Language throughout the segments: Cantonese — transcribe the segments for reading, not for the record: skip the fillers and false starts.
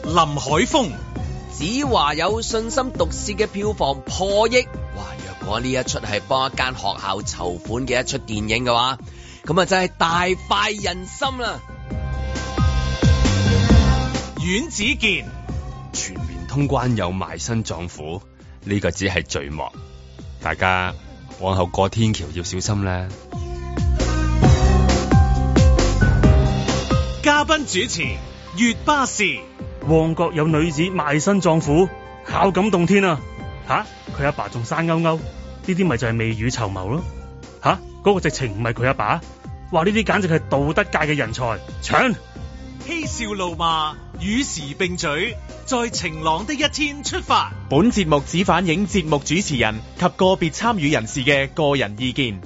林海峰。 子華有信心毒舌嘅票房破億，哇！若果呢一出係幫一間學校籌款嘅一出電影嘅話，咁啊真係大快人心啦！ 阮子健， 全面通關有埋身撞虎，呢個只係序幕，大家往後過天橋要小心啦。 嘉賓主持月巴士。 旺角有女子賣身葬父，孝感動天啊！吓，佢阿爸仲生勾勾，呢啲咪就係未雨綢繆咯？吓，嗰個直情唔係佢阿爸，話呢啲簡直係道德界嘅人才，搶！ 嬉笑怒罵，與時並舉，在晴朗的一天出發。 本節目只反映節目主持人及個別參與人士嘅個人意見。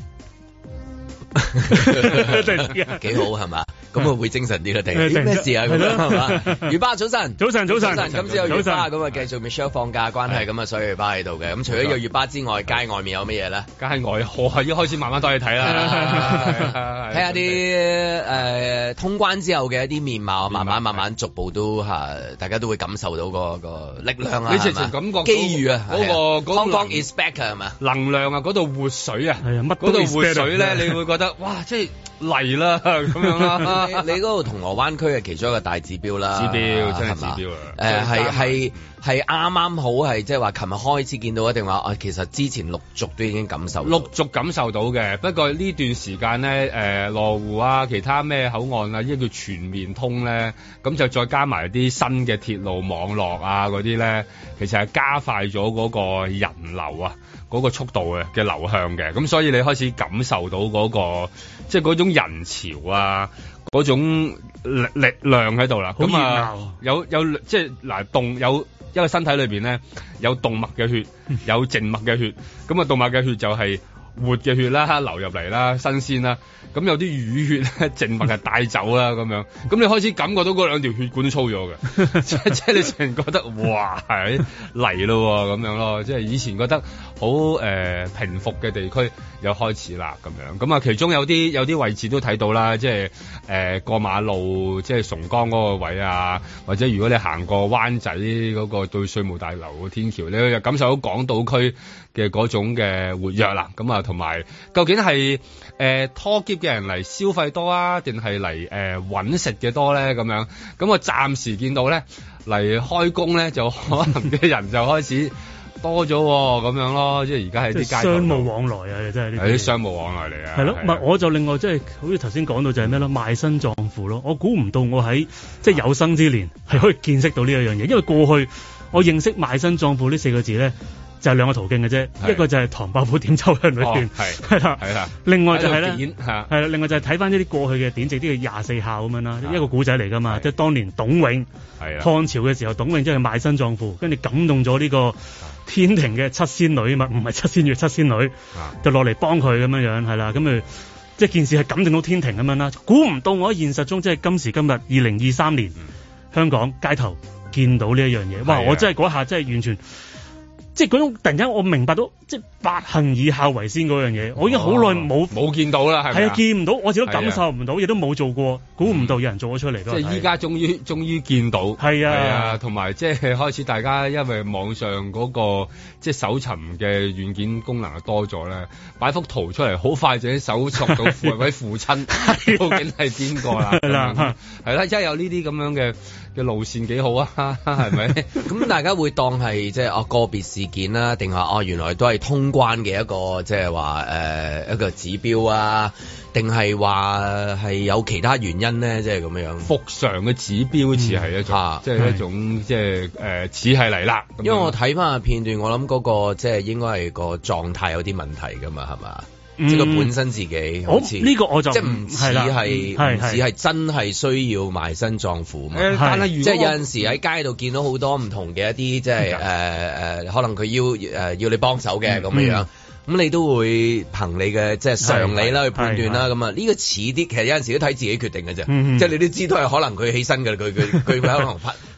幾好係嘛？咁啊會精神啲啦，定咩事啊？咁樣係嘛？雨巴早晨， 早晨， 今朝有雨巴咁啊，繼續 Michelle 放假關係咁啊，所以雨巴喺度嘅。咁除咗有雨巴之外，街外面有乜嘢咧？ 街外我係要開始慢慢多去睇啦， 睇下啲通關之後嘅一啲面貌，慢慢逐步都大家都會感受到個力量啊！ 你直情感覺機遇啊！ 嗰個 Hong Kong is back 係嘛？ 能量啊！嗰度活水啊！ 係啊，乜嗰度活水咧，你會覺得哇！即係嚟啦咁樣啦。 你嗰度銅鑼灣區係其中一個大指標啦， 指標真係指標啊！ 係啱啱好係即係話，琴日開始見到一定話其實之前陸續都已經感受到嘅。不過呢段時間咧，羅湖啊，其他咩口岸啊，呢叫全面通咧，咁就再加埋啲新嘅鐵路網絡啊嗰啲咧，其實係加快咗嗰個人流啊，嗰個速度嘅流向嘅。咁所以你開始感受到嗰個即係嗰種人潮啊，嗰種力量喺度啦。咁啊，有即係嗱有一個身體裏邊咧有動脈嘅血，有靜脈嘅血。咁啊，動脈嘅血就係活嘅血啦，流入嚟啦，新鮮啦。咁有啲淤血咧，靜脈係帶走啦，咁樣。咁你開始感覺到嗰兩條血管都粗咗嘅，即係你成日覺得哇係嚟咯咁樣咯。即係以前覺得好平復嘅地區又開始啦咁樣。咁啊，其中有啲位置都睇到啦，即係過馬路，即係崇光嗰個位啊，或者如果你行過灣仔嗰個對稅務大樓個天橋，你就感受到港島區嘅嗰種嘅活躍啦。咁啊，同埋究竟係拖喼嘅人嚟消費多啊，定係嚟搵食嘅多咧？咁樣，咁我暫時見到咧嚟開工咧，就可能嘅人就開始多咗咁樣咯。即係而家係啲街商務往來啊，真係係啲商務往來嚟啊。 係咯，唔係我就另外即係好似頭先講到就係咩咯，賣身葬父咯。我估唔到我喺即係有生之年係可以見識到呢一樣嘢，因為過去我認識賣身葬父呢4個字咧。就係兩個途徑嘅啫，一個就係唐伯虎點秋香裏邊，係啦，另外就係咧，係啦，另外就係睇翻呢啲過去嘅典籍，啲嘅24孝咁樣啦，一個古仔嚟噶嘛，即係當年董永漢朝嘅時候，董永即係賣身葬父，跟住感動咗呢個天庭嘅7仙女嘛，唔係7仙月7仙女，就落嚟幫佢咁樣樣，係啦，咁即係件事係感動到天庭咁樣啦。估唔到我喺現實中即係今時今日2023年香港街頭見到呢一樣嘢，哇！我真係嗰下真係完全。即係嗰種突然間我明白到，即係百行以孝為先嗰樣嘢，我已經好耐冇見到啦，係咪？係啊，見唔到，我自己都感受唔到，亦都冇做過，估唔到有人做咗出嚟。 即係依家終於見到，係啊，同埋即係開始大家因為網上嗰個即係搜尋嘅軟件功能多咗咧，擺幅圖出嚟，好快就已經搜索到位父親究竟係邊個啦，係啦，而家有呢啲咁樣嘅路線幾好啊，係咪？ 咁大家會當係即係個別事件啦，定係原來都係通關嘅一個即係話一個指標啊，定係話係有其他原因咧？即係咁樣復常嘅指標似係一種，即係一種即係似係嚟啦。 因為我睇翻個片段，我諗嗰個即係應該係個狀態有啲問題噶嘛，係嘛？即係佢本身自己好似呢個我就即係唔似係真係需要賣身葬父嘛。 但係即係有陣時喺街度見到好多唔同嘅一啲即係可能佢要你幫手嘅咁樣。咁你都會憑你嘅即係常理啦去判斷啦，咁啊呢個似啲，其實有陣時都睇自己決定嘅啫，即係你都知道係可能佢起身嘅，佢可能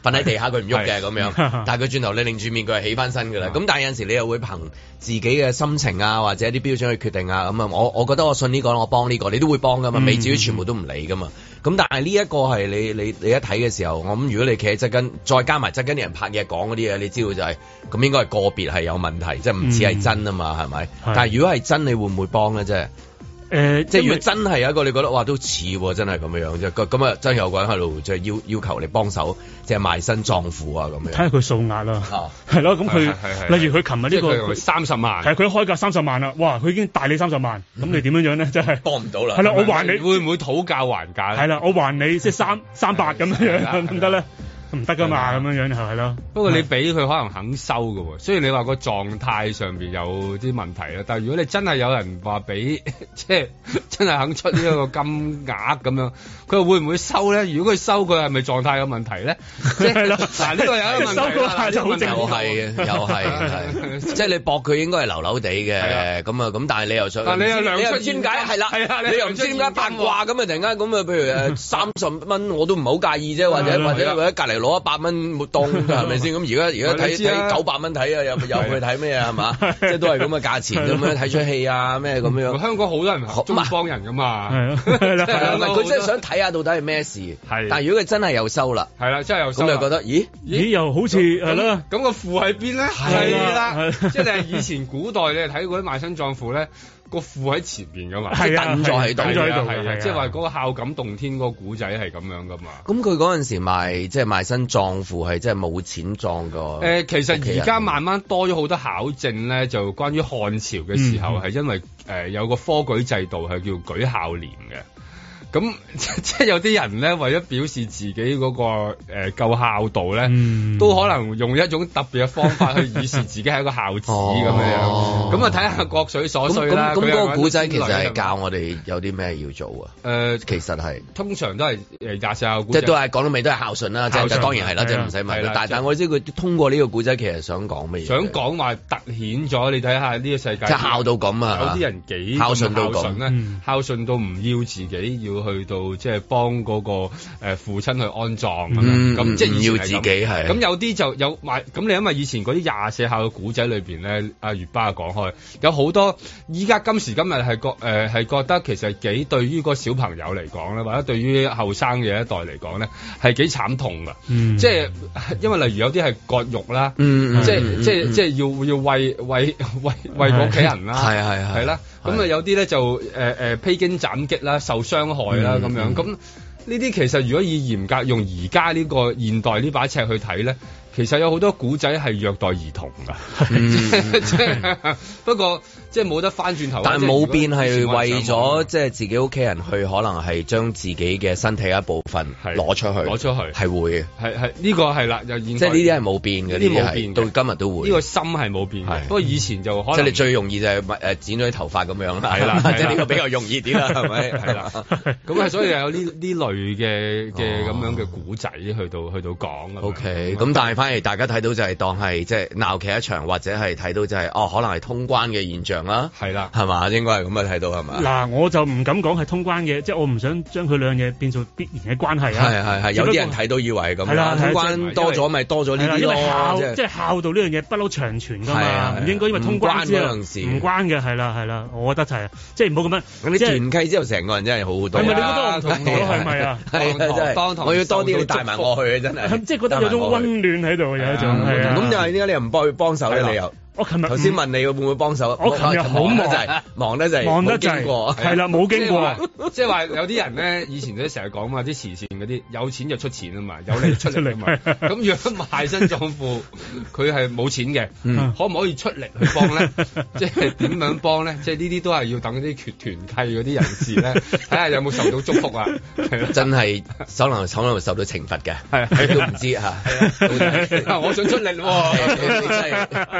瞓喺地下佢唔喐嘅咁樣，但係佢轉頭你擰住面佢係起翻身㗎啦。咁但係有陣時你又會憑自己嘅心情啊或者一啲標準去決定啊咁啊，我覺得我信呢個，我幫呢個，你都會幫㗎嘛，未至於全部都唔理㗎嘛。咁但係呢一個係你一睇嘅時候，我諗如果你企喺側跟，再加埋側跟啲人拍嘢講嗰啲嘢，你知道就係咁應該係個別係有問題，即係唔似係真啊嘛，係咪？但係如果係真，你會唔會幫咧？即係即係如果真係有一個你覺得哇都似喎，真係咁樣啫，咁啊真係有個人喺度即係要求你幫手，即係賣身葬父啊咁樣。睇下佢數額啦，係咯，咁佢例如佢琴日呢個 30萬， 係佢開價30萬啦，哇！佢已經大你30萬，咁你點樣咧？真係幫唔到啦。 係啦，我還你會唔會討價還價？ 係啦，我還你即係300咁樣，得唔得咧？唔得噶嘛，咁樣樣係咯。 不過你俾佢可能肯收㗎喎，雖然你話個狀態上邊有啲問題啦，但係如果你真係有人話俾，即係真係肯出呢一個金額咁樣，佢會唔會收咧？如果佢收，佢係咪狀態有問題咧？即係嗱，呢個有一個問題啦， 又係，即係你搏佢應該係流流地嘅，咁啊咁，但係你又想， 但你又量出點解係啦？你又唔知點解八卦咁啊？突然間咁啊，譬如30蚊我都唔係好介意啫，或者隔離攞100蚊沒當係咪先？咁而家睇900蚊睇啊，又去睇咩啊？係嘛？即係都係咁嘅價錢咁樣睇出戲啊咩咁樣。 香港好多人中意幫人噶嘛， 佢真係想睇下到底係咩事。但係如果佢真係又收啦， 係啦，真係又收，咁就覺得咦又好似係啦。 咁個父喺邊咧？係啦，即係以前古代你睇嗰啲賣身葬父咧。個父喺前邊噶嘛， 即係等咗喺度， 即係話嗰個孝感動天嗰個古仔係咁樣噶嘛。 咁佢嗰陣時賣身葬父係即係冇錢葬個。 其實而家慢慢多咗好多考證咧，就關於漢朝嘅時候係因為有個科舉制度係叫舉孝廉嘅。咁即係有啲人咧，為咗表示自己嗰個夠孝道咧，都可能用一種特別嘅方法去以示自己係一個孝子咁樣。咁啊，睇下各取所需啦。 咁嗰個古仔其實係教我哋有啲咩要做啊？其實係通常都係廿四孝古仔， 即係都係講到尾都係孝順啦。即係當然係啦，即係唔使問。但係我知佢通過呢個古仔其實想講乜嘢？ 想講話突顯咗你睇下呢個世界， 即係孝到咁啊！ 有啲人幾孝順到咁咧，孝順到唔要自己要去到即係幫嗰個父親去安葬咁，即係唔要自己係。咁有啲就有咁你因為以前嗰啲廿四孝嘅古仔裏邊咧，阿月巴講開有好多，依家今時今日係覺得其實幾對於個小朋友嚟講咧，或者對於後生嘅一代嚟講咧，係幾慘痛噶。即係因為例如有啲係割肉啦，即係要餵個屋企人啦，係啦。咁啊有啲咧就披荊斬棘啦，受傷害啦咁樣。咁呢啲其實如果以嚴格用而家呢個現代呢把尺去睇咧，其實有好多古仔係虐待兒童㗎。不過即係冇得翻轉頭。但係冇變係為咗即係自己屋企人去，可能係將自己嘅身體一部分攞出去，係會嘅。係呢個係啦，又即係呢啲係冇變嘅，呢啲冇變，到今日都會。呢個心係冇變嘅。不過以前就可能即係你最容易就係剪咗啲頭髮咁樣啦。係啦，即係呢個比較容易啲啦，係咪？係啦。咁啊，所以有呢類嘅咁樣嘅古仔去到講。OK，咁但係反而大家睇到就係當係即係鬧劇一場，或者係睇到就係可能係通關嘅現象啦。係啦，係嘛？應該係咁啊，睇到係嘛？嗱，我就唔敢講係通關嘅，即係我唔想將佢兩樣嘢變做必然嘅關係啊。係，有啲人睇到以為係咁。係啦，通關多咗咪多咗呢啲咯。因為即係孝道呢樣嘢不嬲長存㗎嘛，唔應該因為通關之後唔關嘅。係啦，我覺得係即係唔好咁樣。咁你團契之後，成個人真係好好多。係咪你覺得我唔同咗？係咪啊？係，我要多啲你帶埋我去啊！真係，即係覺得有種溫暖喺度，有一種係啊。咁就係點解你又唔幫佢幫手咧？你又？我琴日頭先問你會唔會幫手？我琴日好忙，忙得滯，冇經過。係啦，冇經過。即係話有啲人咧，以前都成日講嘛，啲慈善嗰啲有錢就出錢啊嘛，有力出力啊嘛。咁如果賣身葬父，佢係冇錢嘅，可唔可以出力去幫咧？即係點樣幫咧？即係呢啲都係要等啲團契嗰啲人士咧，睇下有冇受到祝福啊！真係可能受到懲罰嘅，都唔知嚇。我想出力喎。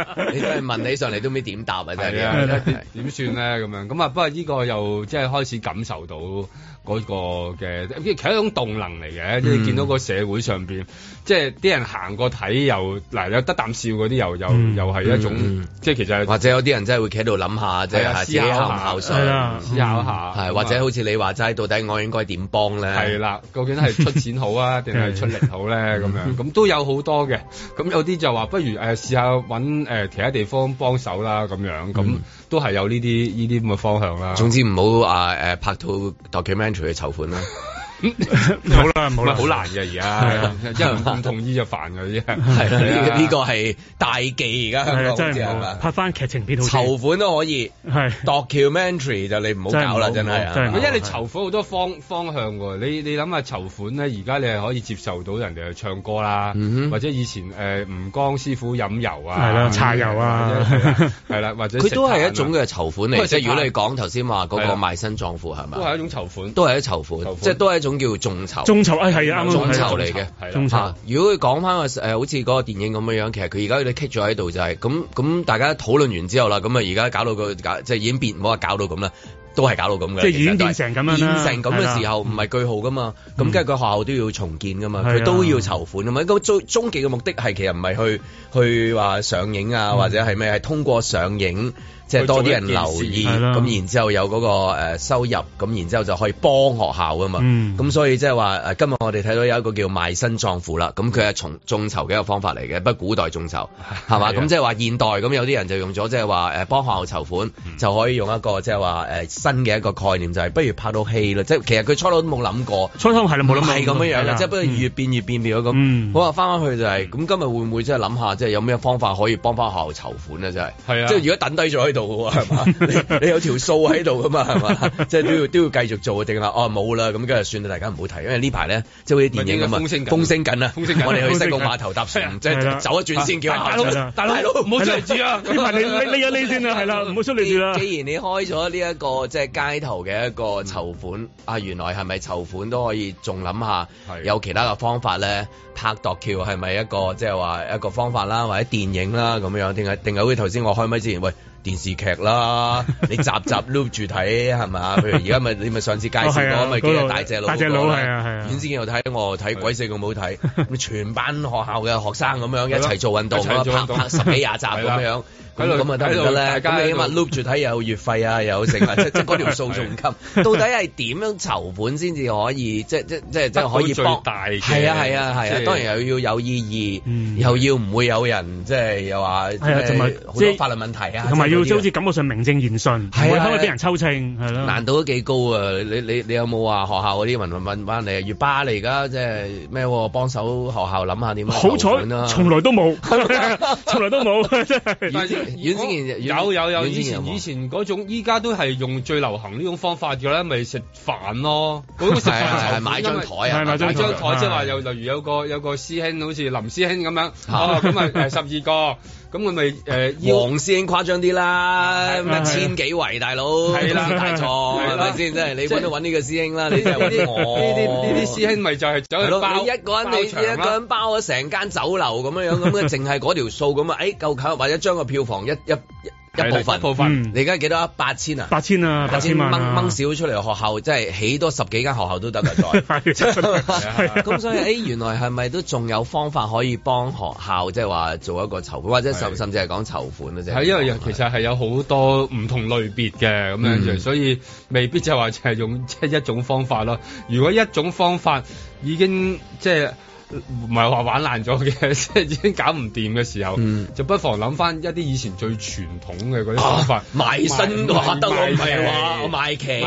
係問起上嚟都唔知點答啊！真係點算咧咁樣？咁啊，不過呢個又即係開始感受到嗰個嘅，其實係一種動能嚟嘅。即係見到個社會上邊，即係啲人行過睇又嗱有得啖笑嗰啲，又係一種，即係其實或者有啲人真係會企喺度諗下，即係自己考唔考上， 思考下， 係或者好似你話齋，到底我應該點幫咧？ 係啦，究竟係出錢好啊，定係出力好咧？咁樣咁都有好多嘅。咁有啲就話不如試下揾其他地方幫手啦，咁樣咁都係有呢啲咁嘅方向啦。 總之唔好拍套 documentary 去籌款啦。 好啦，冇啦， 好難嘅而家，因為唔同意就煩嘅啫。 係啦，呢個係大忌而家香港真係拍翻劇情片好。 籌款都可以， 係 documentary 就你唔好搞啦，真係。 因為你籌款好多方向喎，你諗下籌款咧，而家你係可以接受到人哋去唱歌啦，或者以前吳江師傅飲油啊， 係啦，茶油啊， 係啦，或者佢都係一種嘅籌款嚟。即係如果你講頭先話嗰個賣身葬父係咪？ 都係一種籌款， 都係一籌款，即係都係一種叫眾籌。 眾籌係啊，啱啱眾籌嚟嘅。 眾籌。 如果佢講翻個好似嗰個電影咁樣樣，其實佢而家佢哋棘咗喺度就係咁，大家討論完之後啦，咁啊而家搞到即係已經變，唔好話搞到咁啦。都係搞到咁嘅， 即係已經變成咁樣啦。 變成咁嘅時候唔係句號噶嘛，咁跟住個學校都要重建噶嘛，佢都要籌款噶嘛。咁終極嘅目的係其實唔係去話上映啊，或者係咩，係通過上映。即係多啲人留意，咁然之後有嗰個收入，咁然之後就可以幫學校啊嘛。咁所以即係話今日我哋睇到有一個叫賣身葬父啦，咁佢係眾籌嘅一個方法嚟嘅，不過古代眾籌係嘛？咁即係話現代咁有啲人就用咗即係話幫學校籌款，就可以用一個即係話新嘅一個概念，就係不如拍到戲啦。即係其實佢初頭都冇諗過， 初頭係啦冇諗過係咁樣樣嘅，即係不過越變越變咗咁。好啊，翻去就係咁，今日會唔會即係諗下，即係有咩方法可以幫翻學校籌款咧？真係係啊，即係如果等低咗度嘅喎，係嘛？你有條數喺度噶嘛？係嘛？即係都要繼續做定啦？哦，冇啦，咁跟住算啦，大家唔好提，因為呢排咧即係好似電影咁啊，風聲緊啊！我哋去西貢碼頭搭船，即係走一轉先叫大佬唔好出嚟住啊！ 你先啦，係啦，唔好出嚟住啦。 既然你開咗呢一個即係街頭嘅一個籌款啊，原來係咪籌款都可以仲諗下有其他嘅方法咧？拍度橋係咪一個即係話一個方法啦，或者電影啦咁樣？定係好似頭先我開咪之前喂？電視劇啦，你集 loop 住睇係咪？譬如而家你咪上次介紹過咪幾日大隻佬嗰個啦，遠先又睇，我睇鬼死咁好睇，咁全班學校嘅學生咁樣一齊做運動啦，拍10幾20集咁樣。咁啊得唔得咧？咁你起碼 loop 住睇又有月費啊，又有剩啊，即嗰條數仲唔襟？到底係點樣籌款先至可以即可以幫？係啊，當然又要有意義，又要唔會有人即係又話好多法律問題啊， 同埋要好似感覺上名正言順，唔會可能俾人抽秤係咯。 難度都幾高啊！你有冇話學校嗰啲問翻你啊？月巴你而家即係咩幫手學校諗下點樣籌款啊？ 好彩，從來都冇，從來都冇，真係。 以前嗰種，依家都係用最流行呢種方法嘅啦，咪食飯咯。嗰個食飯係買張台啊， 買張台，即係話例如有個師兄，好似林師兄咁樣，咁咪12個。咁佢咪黃師兄誇張啲啦，1000幾圍大佬，係啦大錯係咪先？真係你揾呢個師兄啦，你就揾呢啲師兄咪就係走去包， 你一個人包咗成間酒樓咁樣，咁淨係嗰條數咁啊，夠近或者將個票房一部分，你而家幾多？8000啊 ？8000啊，8000萬掹少出嚟學校，即係起多10幾間學校都得㗎再。咁所以原來係咪都仲有方法可以幫學校，即係話做一個籌款，或者甚至係講籌款咧？ 係因為其實係有好多唔同類別嘅咁樣，所以未必就係話就係用即係一種方法咯。如果一種方法已經即係唔係話玩爛咗嘅，即係已經搞唔掂嘅時候，就不妨諗翻一啲以前最傳統嘅嗰啲方法， 賣身都得，我唔係話我賣旗，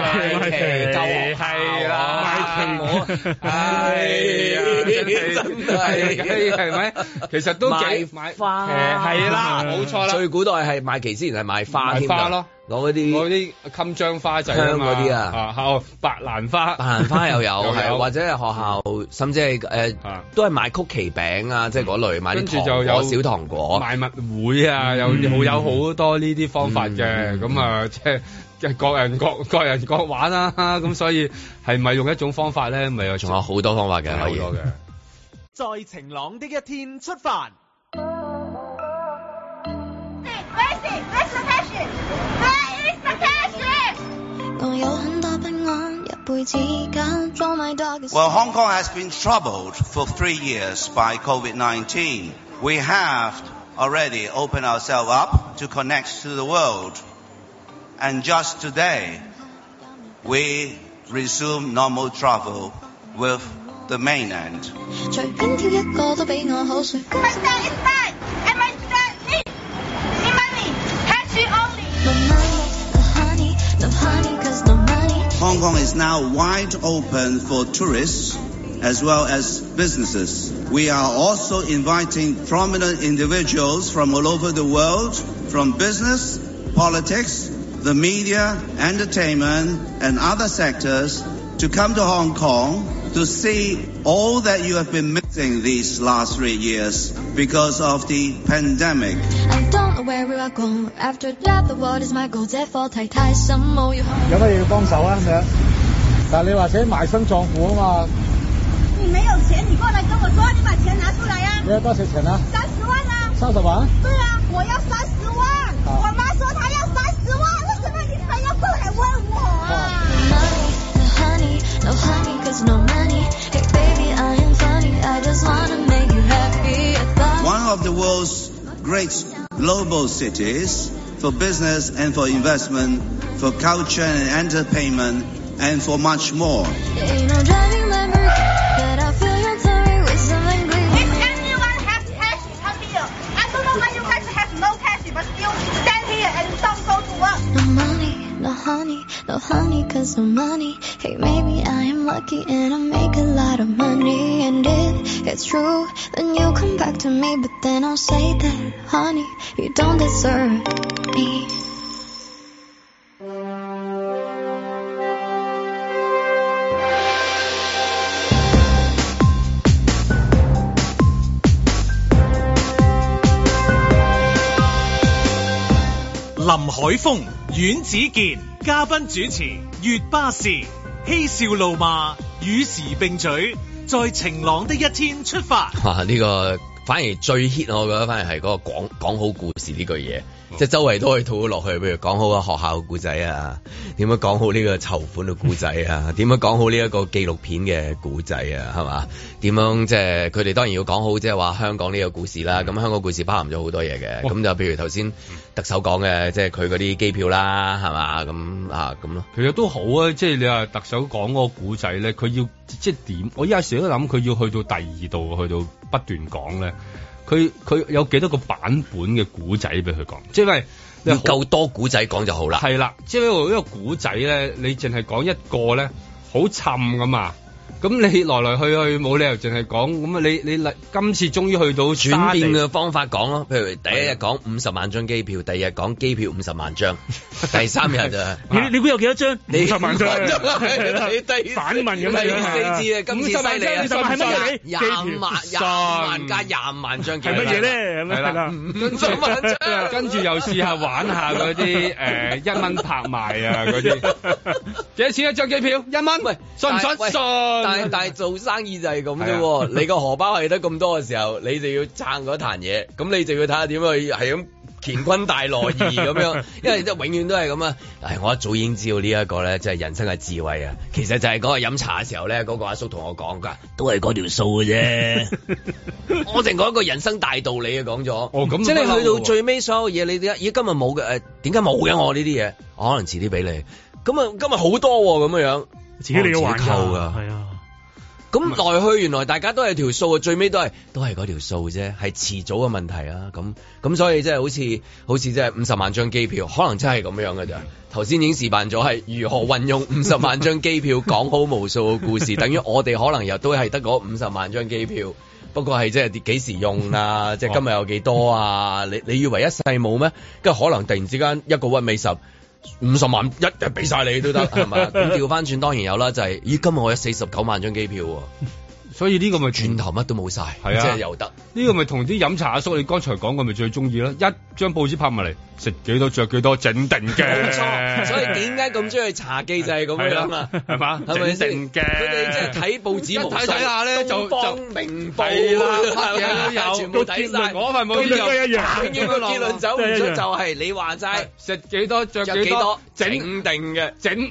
係啦， 賣旗係咪？其實都幾賣花， 係啦，冇錯啦。 最古代係賣旗之前係賣花添咯。 攞嗰啲襟章花仔香嗰啲啊， 白蘭花又有，係或者係學校，甚至係都係賣曲奇餅啊，即係嗰類買啲糖果、小糖果， 賣物會啊，有好多呢啲方法嘅，咁啊，即係各人各玩啦，咁所以係咪用一種方法咧？咪有仲有好多方法嘅， 好多嘅。 在晴朗的一天出發。 Well, Hong Kong has been troubled for 3 years by COVID-19. We have already opened ourselves up to connect to the world. And just today, we resume normal travel with the mainland. Hong Kong is now wide open for tourists as well as businesses. We are also inviting prominent individuals from all over the world, from business, politics, the media, entertainment, and other sectors to come to Hong Kong to see all that you have been missing these last 3 years because of the pandemic. I don't know where we are going. After that, the world is my goal. 這課題太深奧，有乜嘢要幫手啊？咁樣，但係你話請埋身葬父啊嘛。 你沒有錢，你過來跟我說，你把錢拿出來呀。 你要多少錢啊 ？30萬啊。30 萬？ 對啊，我要30萬。我媽說她要30萬，為什麼你非要過來問我啊 ？No honey, cause no money. Hey baby, I am funny. I just wanna make you happy. One of the world's great global cities for business and for investment, for culture and entertainment, and for much more. Ain't no driving Lamborghini, but I feel your tummy with something green. If anyone has cash, come here. I don't know why you guys have no cash, but still stand here and don't go to work. No money, no honey, no honey, cause no money. Hey, maybe I am lucky and I make a lot of money. And if it's true, then you come back to me. But then I'll say that, honey, you don't deserve me. 林海峰、阮子健嘉賓主持，粵巴士嬉笑怒罵，與時並舉，在晴朗的一天出發。 哇！呢個反而最 hit， 我覺得反而係嗰個講好故事呢句嘢，即係周圍都可以套落去，譬如講好個學校嘅故仔啊，點樣講好呢個籌款嘅故仔啊，點樣講好呢一個紀錄片嘅故仔啊，係嘛？點樣即係佢哋當然要講好，即係話香港呢個故事啦。咁香港故事包含咗好多嘢嘅，咁就譬如頭先特首講嘅，即係佢嗰啲機票啦，係嘛？咁啊咁咯。 其實都好啊，即係你話特首講嗰個故仔咧，佢要即係點？我有時都諗佢要去到第二度，去到不斷講咧。佢有幾多個版本嘅古仔俾佢講？即係你夠多古仔講就好啦。 係啦，即係呢個古仔咧，你淨係講一個咧，好沉噶嘛。咁你來來去去冇理由淨係講咁啊！你今次終於去到轉變嘅方法講咯，譬如第一日講50萬張機票，第二日講機票50萬張，第三日就你估有幾多張？50萬張， 你第反問咁樣， 第四次啊，今次犀利啊 ！50萬係乜嘢 ？20萬加25萬張機票係乜嘢咧？ 係啦，50萬張，跟住又試下玩下嗰啲1蚊拍賣啊嗰啲，幾多錢一張機票？1蚊，喂，信唔信？信。 但係做生意就係咁啫，你個荷包係得咁多嘅時候，你就要撐嗰壇嘢，咁你就要睇下點去係咁乾坤大挪移咁樣，因為即係永遠都係咁啊！我一早已經知道呢一個咧，即係人生嘅智慧啊！其實就係嗰個飲茶嘅時候咧，嗰個阿叔同我講㗎，都係嗰條數嘅啫。我淨講一個人生大道理啊，講咗。哦，咁即係你去到最尾所有嘢，你點解咦今日冇嘅？點解冇嘅？我呢啲嘢，我可能遲啲俾你。咁啊，今日好多咁樣， 自己你要還扣㗎，係啊。咁來去原來大家都係條數啊，最尾都係嗰條數啫，係遲早嘅問題啊。咁所以即係好似即係50萬張機票，可能真係咁樣㗎咋。頭先已經示範咗係如何運用50萬張機票講好無數嘅故事，等於我哋可能又都係得嗰50萬張機票，不過係即係幾時用啊？即係今日有幾多啊？你以為一世冇咩？跟住可能突然之間一個屈尾十。50萬一日俾晒你都得係嘛？咁調翻轉當然有啦，就係咦今日我有49萬張機票喎， 所以呢個咪轉頭乜都冇晒，係啊，即係又得呢個咪同啲飲茶阿叔你剛才講嘅咪最中意咯，一張報紙拍埋嚟食幾多着幾多整定嘅， 冇錯。所以點解咁中意茶記就係咁樣啊？ 係嘛？ 係咪定嘅？ 佢哋即係睇報紙睇下咧就明報啦，乜嘢都有，全部睇晒。 嗰份報紙都一樣， 永遠個結論走唔出就係你話齋食幾多着幾多整定嘅整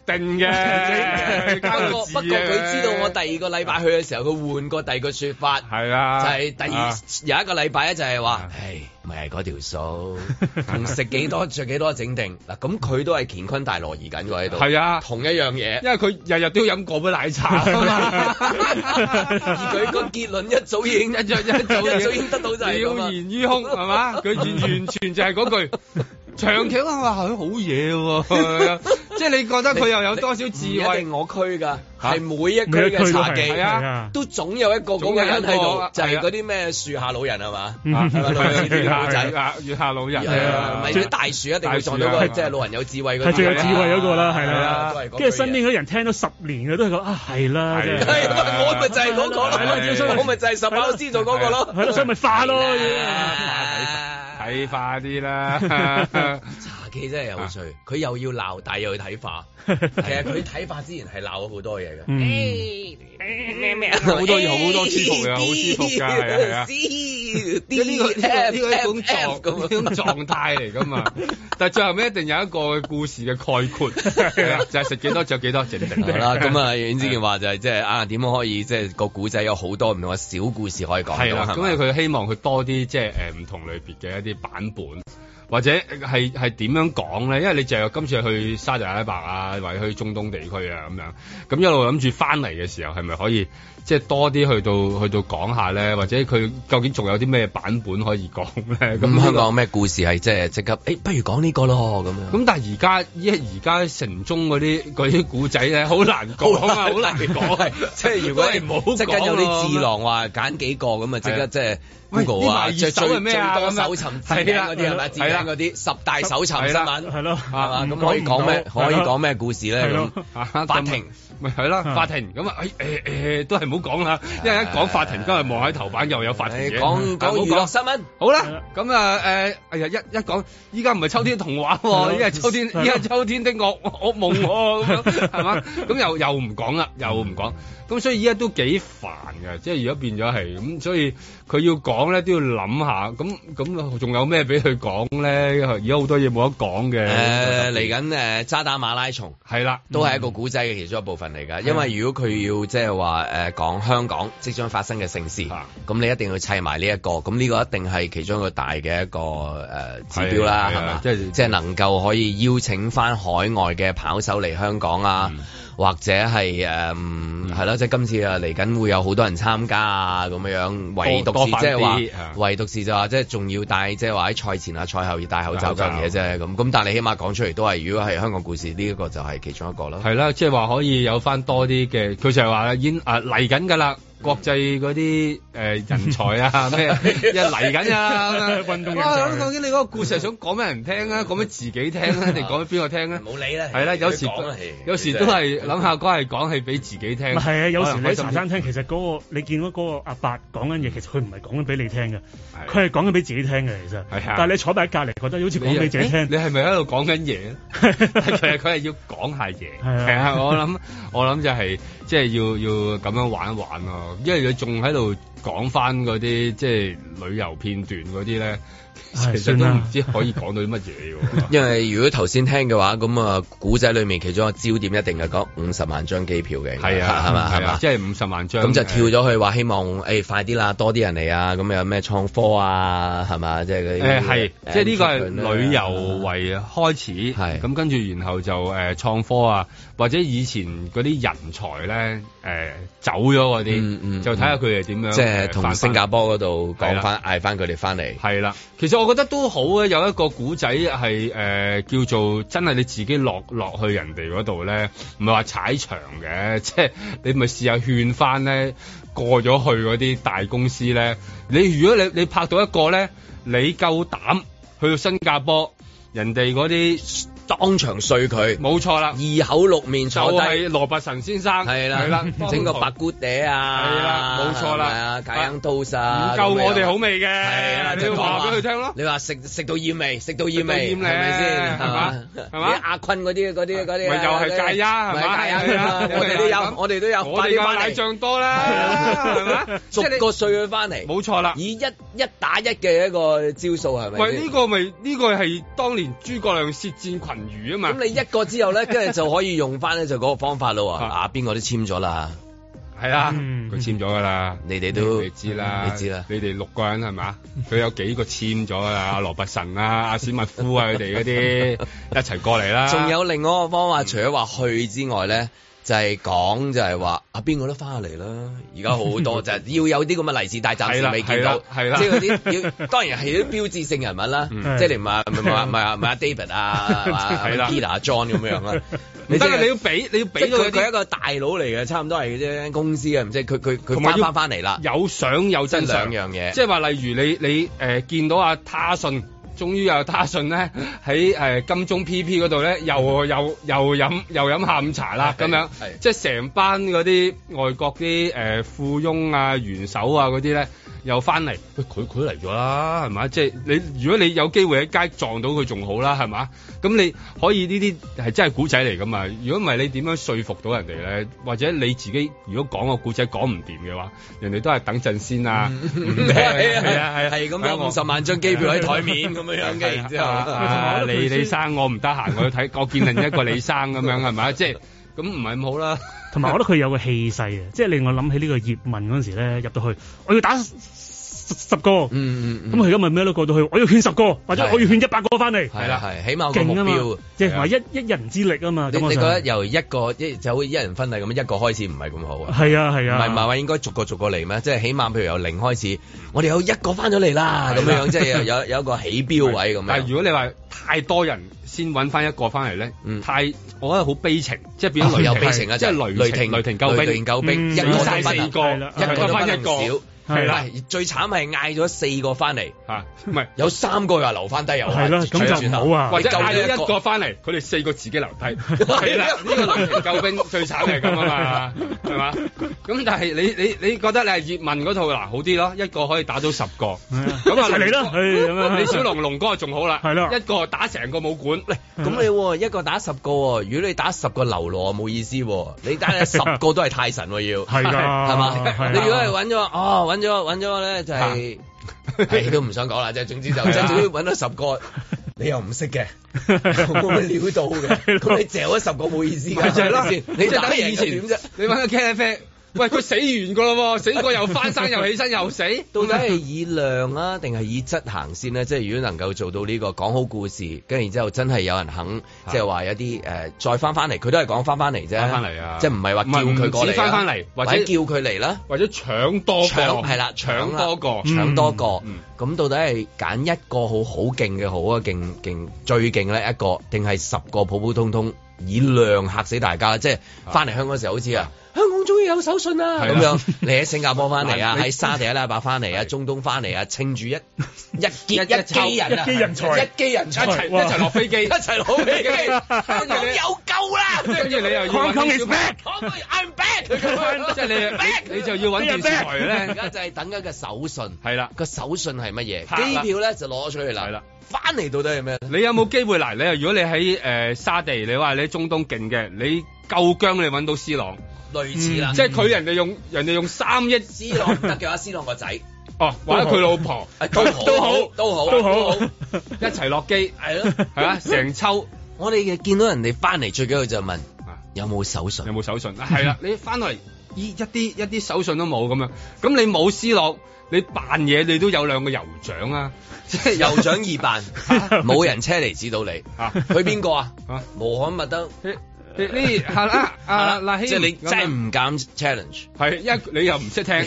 定嘅。 不過佢知道我第二個禮拜去嘅時候，佢換過第二個説法， 係啊， 就係有一個禮拜咧，就係話，唉，咪係嗰條數，同食幾多着幾多整定嗱，咁佢都係乾坤大挪移緊喎喺度， 係啊， 同一樣嘢， 因為佢日日都要飲個杯奶茶啊嘛， 而佢個結論一早已經得到就係了然於胸係嘛，佢完全就係嗰句。長期話佢好嘢喎，即係你覺得佢又有多少智慧？ 一定我區㗎，係每一區嘅茶記都總有一個嗰個人喺度，就係嗰啲咩樹下老人係嘛？ 月下老人唔係啲大樹一定會撞到個即係老人有智慧嗰個， 係最有智慧嗰個啦，係啦。跟住身邊嗰啲人聽咗10年嘅都係講係啦， 我咪就係嗰個咯，我咪就係十把師做嗰個咯， 係咯，所以咪化咯。 睇化啲啦， 茶記真係有趣，佢又要鬧，但係又要睇化。其實佢睇化之前係鬧咗好多嘢嘅， 咩好多嘢好多舒服嘅，好舒服㗎，係啊。呢個一種狀態嚟㗎嘛，但係最後尾一定有一個故事嘅概括，係啊，就係食幾多着幾多整定。 好啦，咁啊，阮之健話就係即係點樣可以即係個古仔有好多唔同嘅小故事可以講。 係啦，咁佢希望佢多啲即係唔同類別嘅一啲版本。或者係點樣講咧？因為你就今次去沙特阿拉伯啊，或者去中東地區啊咁樣，咁一路諗住翻嚟嘅時候，係咪可以即係多啲去到講下咧？或者佢究竟仲有啲咩版本可以講咧？咁香港咩故事係即刻？不如講呢個咯咁樣。 咁但係而家城中嗰啲古仔咧，好難講啊，好難講。 即係如果你唔好即刻有啲智囊話揀幾個咁啊，即刻即係。Google 啊，最多搜尋字典嗰啲係咪？字典嗰啲10大搜尋新聞係咯，係嘛？咁可以講咩？可以講咩故事咧？咁法庭咪係啦，法庭咁啊都係唔好講啦，因為一講法庭，今日望喺頭版又有法庭嘅。 講娛樂新聞好啦，咁啊一講依家唔係秋天童話喎，依家秋天的噩夢喎，咁樣係嘛？咁又唔講啦，又唔講。咁所以依家都幾煩嘅，即係如果變咗係咁，所以佢要講咧都要諗下，咁仲有咩俾佢講咧？而家好多嘢冇得講嘅。 嚟緊渣打馬拉松係啦， 都係一個古仔嘅其中一部分嚟㗎。因為如果佢要即係話講香港即將發生嘅盛事，咁你一定要砌埋呢一個，咁呢個一定係其中一個大嘅一個指標啦，係嘛？即係能夠可以邀請翻海外嘅跑手嚟香港啊。或者係係咯，即係今次嚟緊會有好多人參加啊咁樣，唯獨是即係話，唯獨是就話即係仲要戴即係話喺賽前啊賽後要戴口罩嗰樣嘢啫咁但係你起碼講出嚟都係，如果係香港故事呢一個就係其中一個啦。 係啦，即係話可以有翻多啲嘅，佢就係話已經嚟緊㗎啦。國際嗰啲人才啊咩一嚟緊啊運動人才，究竟你嗰個故事係想講俾人聽啊，講俾自己聽啊，定講俾邊個聽啊？ 冇理啦， 係啦，有時都係諗下嗰係講係俾自己聽。 係啊，有時你喺茶餐廳其實嗰個你見到嗰個阿伯講緊嘢，其實佢唔係講緊俾你聽嘅，佢係講緊俾自己聽嘅其實。但係你坐喺隔離覺得好似講俾自己聽。 你係咪喺度講緊嘢？其實佢係要講下嘢。係啊，我諗就係即係要咁樣玩一玩咯。因為佢仲喺度講翻嗰啲即係旅遊片段嗰啲咧，其實都唔知可以講到啲乜嘢喎。 因為如果頭先聽嘅話，咁啊古仔裏面其中一個焦點一定係講50萬張機票嘅， 係啊，係嘛，係嘛，即係50萬張。 咁就跳咗去話希望快啲啦，多啲人嚟啊！咁有咩創科啊，係嘛，即係嗰啲係，即係呢個係旅遊為開始，係咁跟住然後就創科啊，或者以前嗰啲人才咧走咗嗰啲，就睇下佢哋點樣， 即係同新加坡嗰度講翻嗌翻佢哋翻嚟。 係啦，其實我覺得都好啊，有一個古仔係叫做真係你自己落去人哋嗰度咧，唔係話踩場嘅，即係你咪試下勸翻咧過咗去嗰啲大公司咧。如果你拍到一個咧，你夠膽去到新加坡，人哋嗰啲。 當場碎佢， 冇錯啦， 二口六面坐低， 就係羅拔臣先生，係啦， 整個白姑嗲啊， 係啦，冇錯啦， 芥香刀沙， 唔夠我哋好味嘅， 係啦， 你要話俾佢聽咯。 你話食到厭味，食到厭味，係咪先？係嘛？係嘛？阿坤嗰啲，咪又係芥丫，係嘛？ 我哋都有， 我哋嘅奶醬多啦，係嘛？ 逐個碎佢翻嚟， 冇錯啦， 以一打一嘅一個招數係咪？ 喂，呢個係當年諸葛亮舌戰群文娛啊嘛。 咁你一個之後咧，跟住就可以用翻咧就嗰個方法咯。邊個都簽咗啦。 係啊，佢簽咗噶啦， 你哋都你知啦， 你知啦， 你哋6個人係嘛？佢有幾個簽咗啦？阿羅拔臣啊、阿史密夫啊，佢哋嗰啲一齊過嚟啦。 仲有另外一個方法，除咗話去之外咧，就係講就係話邊個都翻嚟啦。而家好多就係要有啲咁嘅利是，但係暫時未見到， 係啦， 即係嗰啲要當然係啲標誌性人物啦，即係你唔係阿 David 啊、Peter、John 咁樣啦。 唔得啊！你要俾佢係一個大佬嚟嘅，差唔多係啫公司啊，唔知佢翻嚟啦， 有相有真相兩樣嘢， 即係話例如你見到阿他信，終於有他信咧喺金鐘 PP 嗰度咧，又飲下午茶啦咁樣，即係成班嗰啲外國啲富翁啊、元首啊嗰啲咧。又翻嚟，佢嚟咗啦，係嘛？即係你，如果你有機會喺街撞到佢仲好啦，係嘛？咁你可以呢啲係真係古仔嚟噶嘛？如果唔係你點樣說服到人哋咧？或者你自己如果講個古仔講唔掂嘅話，人哋都係等陣先啊！係咁樣50萬張機票喺台面咁樣嘅，然之後李生我唔得閒，我要睇我見另一個李生咁樣係咪？即係咁唔係咁好啦。 同埋我覺得佢有個氣勢嘅，即係令我諗起呢個葉問嗰陣時咧，入到去我要打10個，咁佢而家咪咩都過到去，我要勸10個，或者我要勸100個翻嚟， 係啦，係起碼個目標， 即係話一人之力啊嘛。 你覺得由一個就好似一人婚禮咁一個開始唔係咁好啊？ 係啊，唔係話應該逐個嚟咩？即係起碼譬如由0開始，我哋有1個翻咗嚟啦，咁樣即係有一個起標位咁樣。 但係如果你話太多人先揾翻一個翻嚟咧，我覺得好悲情，即係變咗有悲情啊！ 即係雷霆救兵， 一個翻4個， 一個翻1個。 係啦， 最慘係嗌咗4個翻嚟， 唔係有3個又留翻低，又係啦，咁就唔好啊。 或者嗌咗1個翻嚟，佢哋4個自己留低，係啦，呢個雷霆救兵最慘係咁啊嘛，係嘛？咁但係你覺得你係葉問嗰套好啲咯？一個可以打到10個，咁啊嚟啦，李小龍哥仲好啦，係咯，一個打成個武館， 咁你一個打10個，如果你打10個流羅冇意思，你打10個都係太神要， 係㗎， 係嘛？你如果係揾咗咧就係都唔想講啦，即係總之就總之揾到10個，你又唔識嘅，冇乜料到嘅，咁你嚼咗10個冇意思㗎， 就係咯， 你就等於以前點啫？ 你揾個茄喱啡。喂，佢死完㗎咯喎，死過又翻生又起身又死， 到底係以量啊定係以質行先咧？即係如果能夠做到呢個講好故事，跟住然之後真係有人肯，即係話有啲再翻嚟，佢都係講翻嚟啫，翻嚟啊！即係唔係話叫佢過嚟翻嚟，或者叫佢嚟啦， 或者搶多個， 係啦，搶多個，咁到底係揀一個好勁嘅好啊，勁最勁咧一個，定係10個普普通通以量嚇死大家？即係翻嚟香港嘅時候好似啊！香港終於有手信啦！咁樣你喺新加坡翻嚟啊，喺沙地阿拉伯翻嚟啊，中東翻嚟啊，稱住一機人才，一齊落飛機，一齊落飛機，香港有救啦！跟住你又要揾啲 I'm back， 即係你就要揾電視台咧，而家就係等緊個手信，係啦，個手信係乜嘢？機票咧就攞出去啦，係啦，翻嚟到底係咩？你有冇機會嗱？你如果你喺沙地，你話你喺中東勁嘅，你夠姜你揾到 C 朗。類似啦，即係佢人哋用3億，C 朗唔得嘅話，C 朗個仔，或者佢老婆都好，一齊落機，係咯，係啊，成抽，我哋見到人哋翻嚟最緊要就問有冇手信，係啦，你翻嚟一啲手信都冇咁樣，咁你冇 C 朗，你扮嘢你都有2個酋長啊，即係酋長2扮，冇人車嚟指導你，去邊個啊？穆罕默德。呢係啦，嗱，即係你真係唔敢 challenge，係你又唔識聽，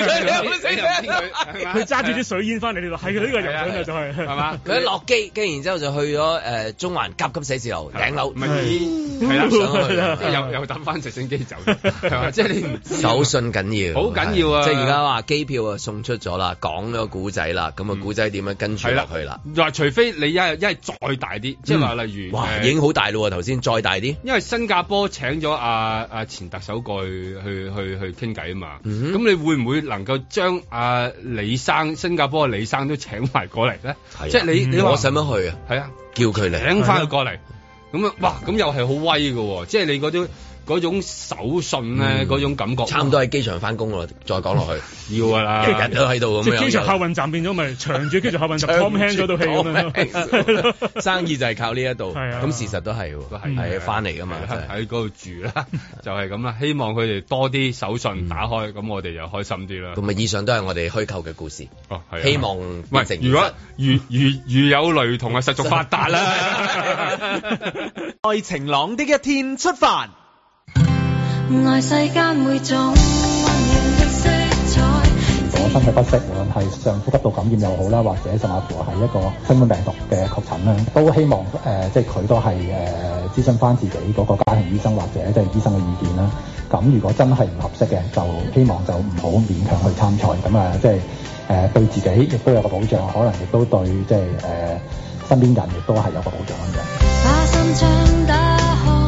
佢揸住啲水煙翻嚟，你話係佢呢個酋長嘅就係嘛？佢一落機，跟然之後就去咗中環甲級寫字樓頂樓， 係啦，上去又搭翻直升機走，係嘛？即係你唔知手信緊要， 好緊要啊！ 即係而家話機票啊送出咗啦，講咗個古仔啦，咁啊古仔點樣跟住落去啦？ 話除非你一係再大啲，即係話例如已經好大咯，頭先再大啲， 因為新加坡請咗阿前特首過去傾偈啊嘛，咁你會唔會能夠將李生新加坡嘅李生都請埋過嚟咧？即係你我使乜去啊？ 係啊， 叫佢嚟， 請翻佢過嚟，咁啊，哇，咁又係好威㗎喎！即係你嗰啲嗰種手信咧，嗰種感覺， 差唔多喺機場翻工咯。再講落去， 要㗎啦， 日日都喺度咁樣。 即係機場客運站變咗咪長住機場客運站 Tom Hanks 嗰套戲咁樣。 生意就係靠呢一度， 係啊， 咁事實都係係翻嚟㗎嘛， 喺嗰度住啦，就係咁啦。希望佢哋多啲手信打開，咁我哋就開心啲啦。 咁啊，以上都係我哋虛構嘅故事。 哦，係。 希望變成。 如果如有雷同啊，實屬發達啦。 在晴朗的一天出發。 愛世間每種溫暖的色彩。 如果身體不適，無論係上呼吸道感染又好啦，或者甚至乎係一個新冠病毒嘅確診啦，都希望即係佢都係諮詢翻自己嗰個家庭醫生或者即係醫生嘅意見啦。咁如果真係唔合適嘅，就希望就唔好勉強去參賽。咁啊，即係對自己亦都有個保障，可能亦都對即係身邊人亦都係有個保障咁樣。 把心窗打開，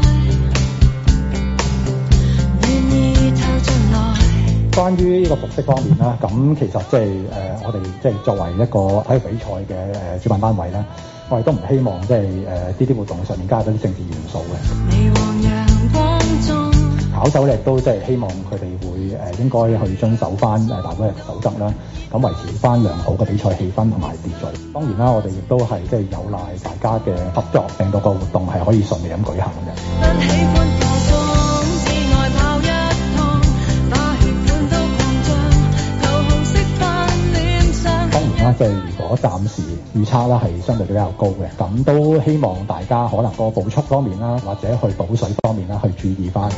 願意透進來。 關於呢個服飾方面啦，咁其實即係我哋即係作為一個體育比賽嘅主辦單位啦，我哋都唔希望即係呢啲活動上面加咗啲政治元素嘅。跑手咧都即係希望佢哋會應該去遵守翻大會嘅守則啦，咁維持翻良好嘅比賽氣氛同埋秩序。當然啦，我哋亦都係即係有賴大家嘅合作，令到個活動係可以順利咁舉行嘅。即係如果暫時預測啦係相對比較高嘅，咁都希望大家可能個步速方面啦，或者去補水方面啦，去注意翻。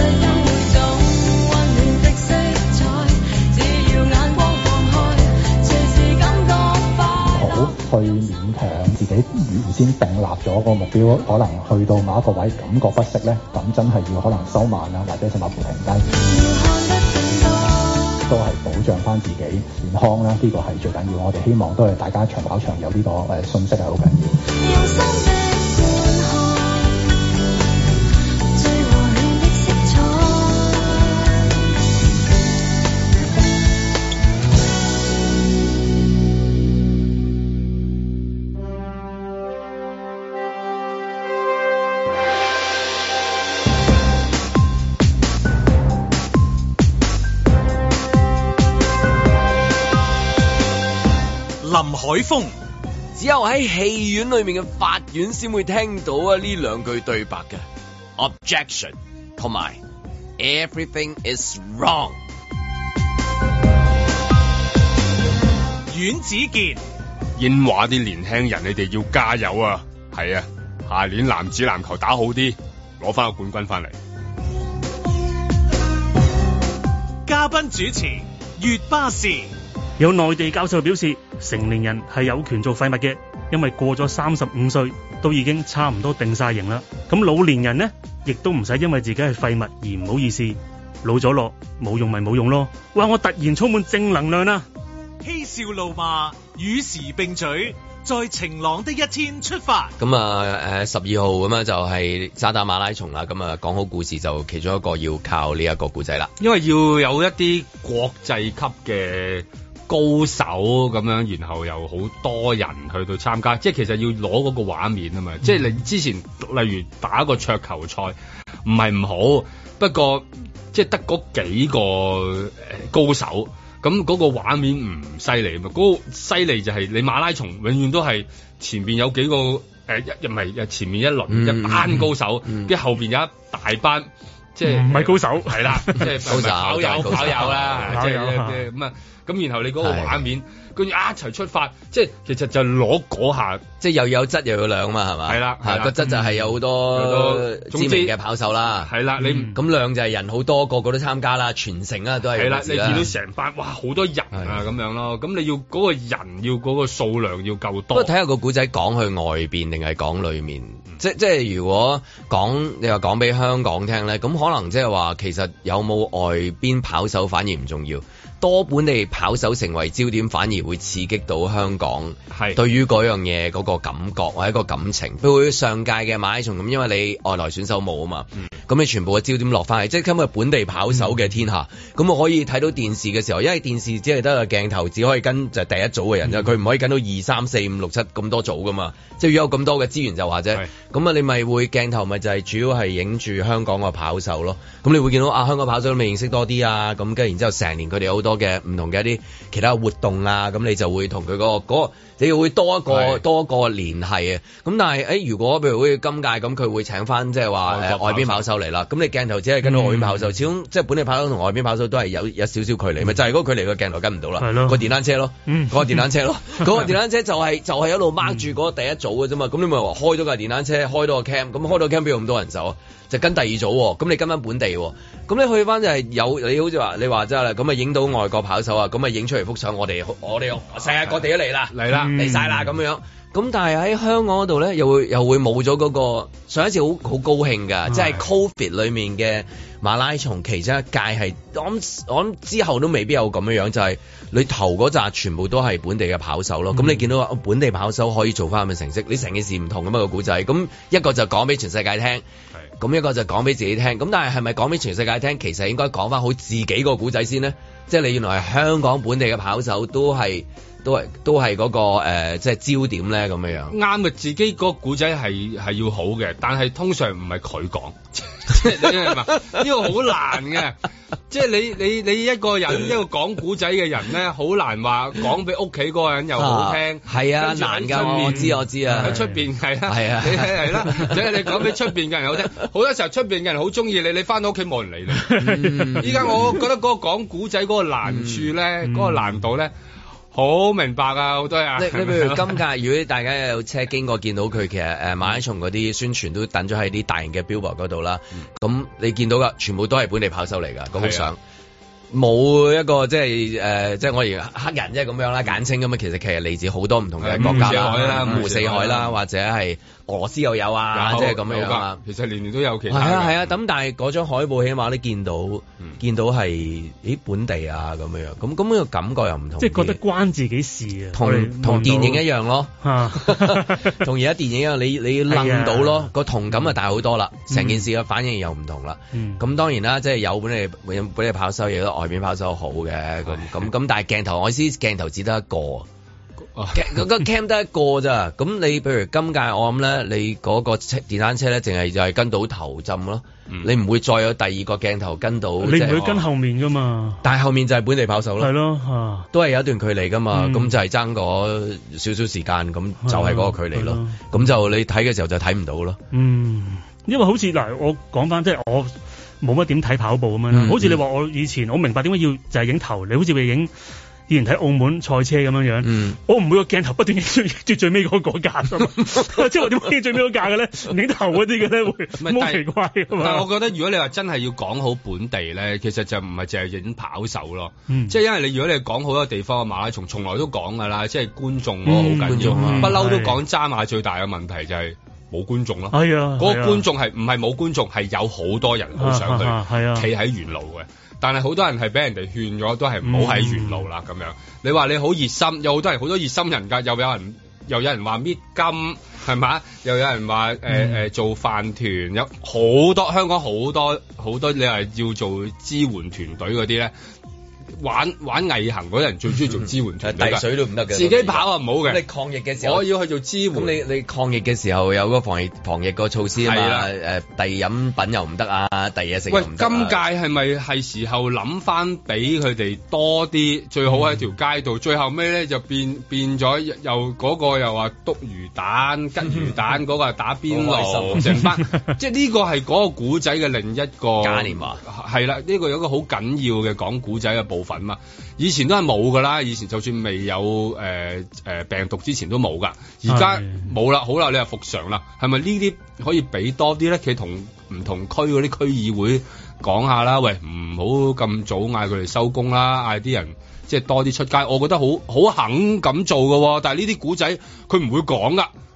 唔好去勉強自己原先訂立咗個目標，可能去到某一個位感覺不適咧，咁真係要可能收慢啦，或者甚至乎停低。都係保障翻自己健康啦，呢個係最緊要。我哋希望都係大家長跑場有呢個信息係好緊要。 林海峰， 只有喺戲院裏面嘅法院先會聽到啊呢兩句對白嘅 objection 同埋 everything is wrong。 阮子健， 英華啲年輕人，你哋要加油啊！係啊，下年男子籃球打好啲，攞翻個冠軍翻嚟。 嘉賓主持月巴士。 有內地教授表示，成年人係有權做廢物嘅，因為過咗35歲都已經差唔多定晒型啦。咁老年人呢，亦都唔使因為自己係廢物而唔好意思，老咗落冇用咪冇用咯。哇！我突然充滿正能量啦！ 嬉笑怒罵，與時並舉，在晴朗的一天出發。 咁啊12號咁啊就係渣打馬拉松啦。咁啊講好故事就其中一個要靠呢一個故仔啦， 因為要有一啲國際級嘅高手咁樣，然後又好多人去到參加，即係其實要攞嗰個畫面啊嘛。即係你之前例如打一個桌球賽，唔係唔好，不過即係得嗰幾個高手，咁嗰個畫面唔犀利啊嘛。嗰個犀利就係你馬拉松永遠都係前邊有幾個唔係前面一輪一班高手，跟住後邊有一大班。即係唔係高手，係啦，即係跑友啦，即係咁啊，咁然後你嗰個畫面，跟住一齊出發，即係其實就攞嗰下， 即係又有質又有量嘛，係嘛？係啦，個質就係有好多知名嘅跑手啦，係啦，你咁量就係人好多，個個都參加啦，全城啊都係。係啦，你見到成班哇好多人啊咁樣咯，咁你要嗰個人要嗰個數量要夠多。不過睇下個古仔講去外邊定係講裏面，即係如果你話講俾香港聽咧，咁可能即係話其實有冇外邊跑手反而唔重要， 多本地跑手成為焦點，反而會刺激到香港係對於嗰樣嘢嗰個感覺或者個感情。譬如上屆嘅馬拉松咁，因為你外來選手冇啊嘛，咁你全部嘅焦點落翻嚟，即係今日本地跑手嘅天下。咁我可以睇到電視嘅時候，因為電視只係得個鏡頭，只可以跟就係第一組嘅人啫，佢唔可以跟到2、3、4、5、6、7咁多組噶嘛。即係如果有咁多嘅資源就話啫。咁啊，你咪會鏡頭咪就係主要係影住香港個跑手咯。咁你會見到香港跑手都未認識多啲啊。咁跟住然之後成年佢哋有好多嘅唔同嘅一啲其他活動啊。咁你就會同佢嗰個你會多一個聯繫啊。咁但係如果譬如好似今屆咁，佢會請翻即係話外邊跑手嚟啦。咁你鏡頭只係跟到外邊跑手，始終即係本地跑手同外邊跑手都係有少少距離，咪就係嗰個距離個鏡頭跟唔到啦。個電單車咯，嗰個電單車咯，嗰個電單車就係一路 mark 住嗰個第一組嘅啫嘛。咁你咪話開咗架電單車，開到個 cam， 咁開到 cam 邊有咁多人手啊？就跟第二組喎，咁你跟翻本地喎，咁你去翻就係你好似話你話齋啦，咁啊影到外國跑手啊，咁啊影出嚟幅相，我哋世界各地都嚟啦，嚟晒啦咁樣。咁但係喺香港嗰度咧，又會冇咗嗰個上一次好高興㗎，即係 Covid 裏面嘅馬拉松其中一屆係我諗之後都未必有咁樣，就係你頭嗰紮全部都係本地嘅跑手咯。咁你見到本地跑手可以做翻咁嘅成績，你成件事唔同咁個故仔。咁一個就講俾全世界聽，咁一個就講俾自己聽。咁但係咪講俾全世界聽？其實應該講翻好自己個故仔先呢？即係你原來係香港本地嘅跑手都係嗰個即係焦點咧咁樣。啱嘅，自己嗰個古仔係要好嘅，但係通常唔係佢講，即係你明嘛？呢個好難嘅，即係你一個人一個講古仔嘅人咧，好難話講俾屋企嗰個人又好聽。係啊，難㗎，我知啊。喺出邊係啦，係啊，你係啦，即係你講俾出邊嘅人好聽。好多時候出邊嘅人好中意你，你翻到屋企冇人理你。依家我覺得嗰個講古仔嗰個難處咧，嗰個難度咧。好明白啊，好多人。你譬如今屆，如果大家有車經過見到佢，其實馬拉松嗰啲宣傳都等咗喺啲大型嘅 billboard 嗰度啦。咁你見到噶，全部都係本地跑手嚟㗎，嗰幅相。冇一個即係我而黑人即係咁樣啦，簡稱咁啊。其實嚟自好多唔同嘅國家啦，五湖四海啦，或者係俄羅斯又有啊，即係咁樣啊。其實年年都有其他。係啊，咁但係嗰張海報起碼都見到係本地啊咁樣。咁個感覺又唔同。即係覺得關自己事啊。同電影一樣咯，同而家電影一樣，你諗到咯，個同感啊大好多啦，成件事嘅反應又唔同啦。咁當然啦，即係有本地跑手亦都。外邊跑手好嘅，咁但係鏡頭，我意思鏡頭只得一個，嗰個 cam 得一個咋。咁你譬如今屆我諗咧，你嗰個電單車咧，淨係就係跟到頭浸咯，你唔會再有第二個鏡頭跟到。你唔會跟後面噶嘛？但係後面就係本地跑手咯，係咯，都係有一段距離噶嘛。咁就係爭嗰少少時間，咁就係嗰個距離咯。咁就你睇嘅時候就睇唔到咯。因為好似嗱，我講翻即係我。冇乜點睇跑步咁樣啦，好似你話我以前我明白點解要就係影頭，你好似影以前睇澳門賽車咁樣樣，我唔會個鏡頭不斷影住最尾嗰架㗎嘛，即係我點解影最尾嗰架嘅咧？影頭嗰啲嘅咧會好奇怪㗎嘛。但係我覺得如果你話真係要講好本地咧，其實就唔係淨係影跑手咯，即係因為如果你講好多地方嘅馬拉松，從來都講㗎啦，即係觀眾好緊要，不嬲都講渣馬最大嘅問題就係。冇觀眾咯，係啊，嗰個觀眾係唔係冇觀眾，係有好多人好想去，企喺沿路嘅。但係好多人係俾人哋勸咗，都係唔好喺沿路啦咁樣。你話你好熱心，有好多人好多熱心人㗎，又有人話搣金係嘛，又有人話做飯團，有好多香港好多你話要做支援團隊嗰啲咧。玩毅行嗰啲人最中意做支援團隊，遞水都唔得嘅，自己跑啊唔好嘅。你抗疫嘅時候，我要去做支援。咁你抗疫嘅時候有個防疫個措施啊嘛，遞飲品又唔得啊，遞嘢食又唔得。喂，今屆係咪係時候諗翻俾佢哋多啲？最好喺條街度。最後尾咧就變咗，又嗰個又話篤魚蛋、吉魚蛋，嗰個係打邊爐，成班。即係呢個係嗰個古仔嘅另一個嘉年華。係啦，呢個有一個好緊要嘅講古仔嘅部分嘛，以前都係冇噶啦，以前就算未有病毒之前都冇噶，而家冇啦，好啦，你又復常啦，係咪呢啲可以俾多啲咧？佢同唔同區嗰啲區議會講下啦，喂，唔好咁早嗌佢哋收工啦，嗌啲人即係多啲出街，我覺得好肯咁做噶，但係呢啲古仔佢唔會講噶。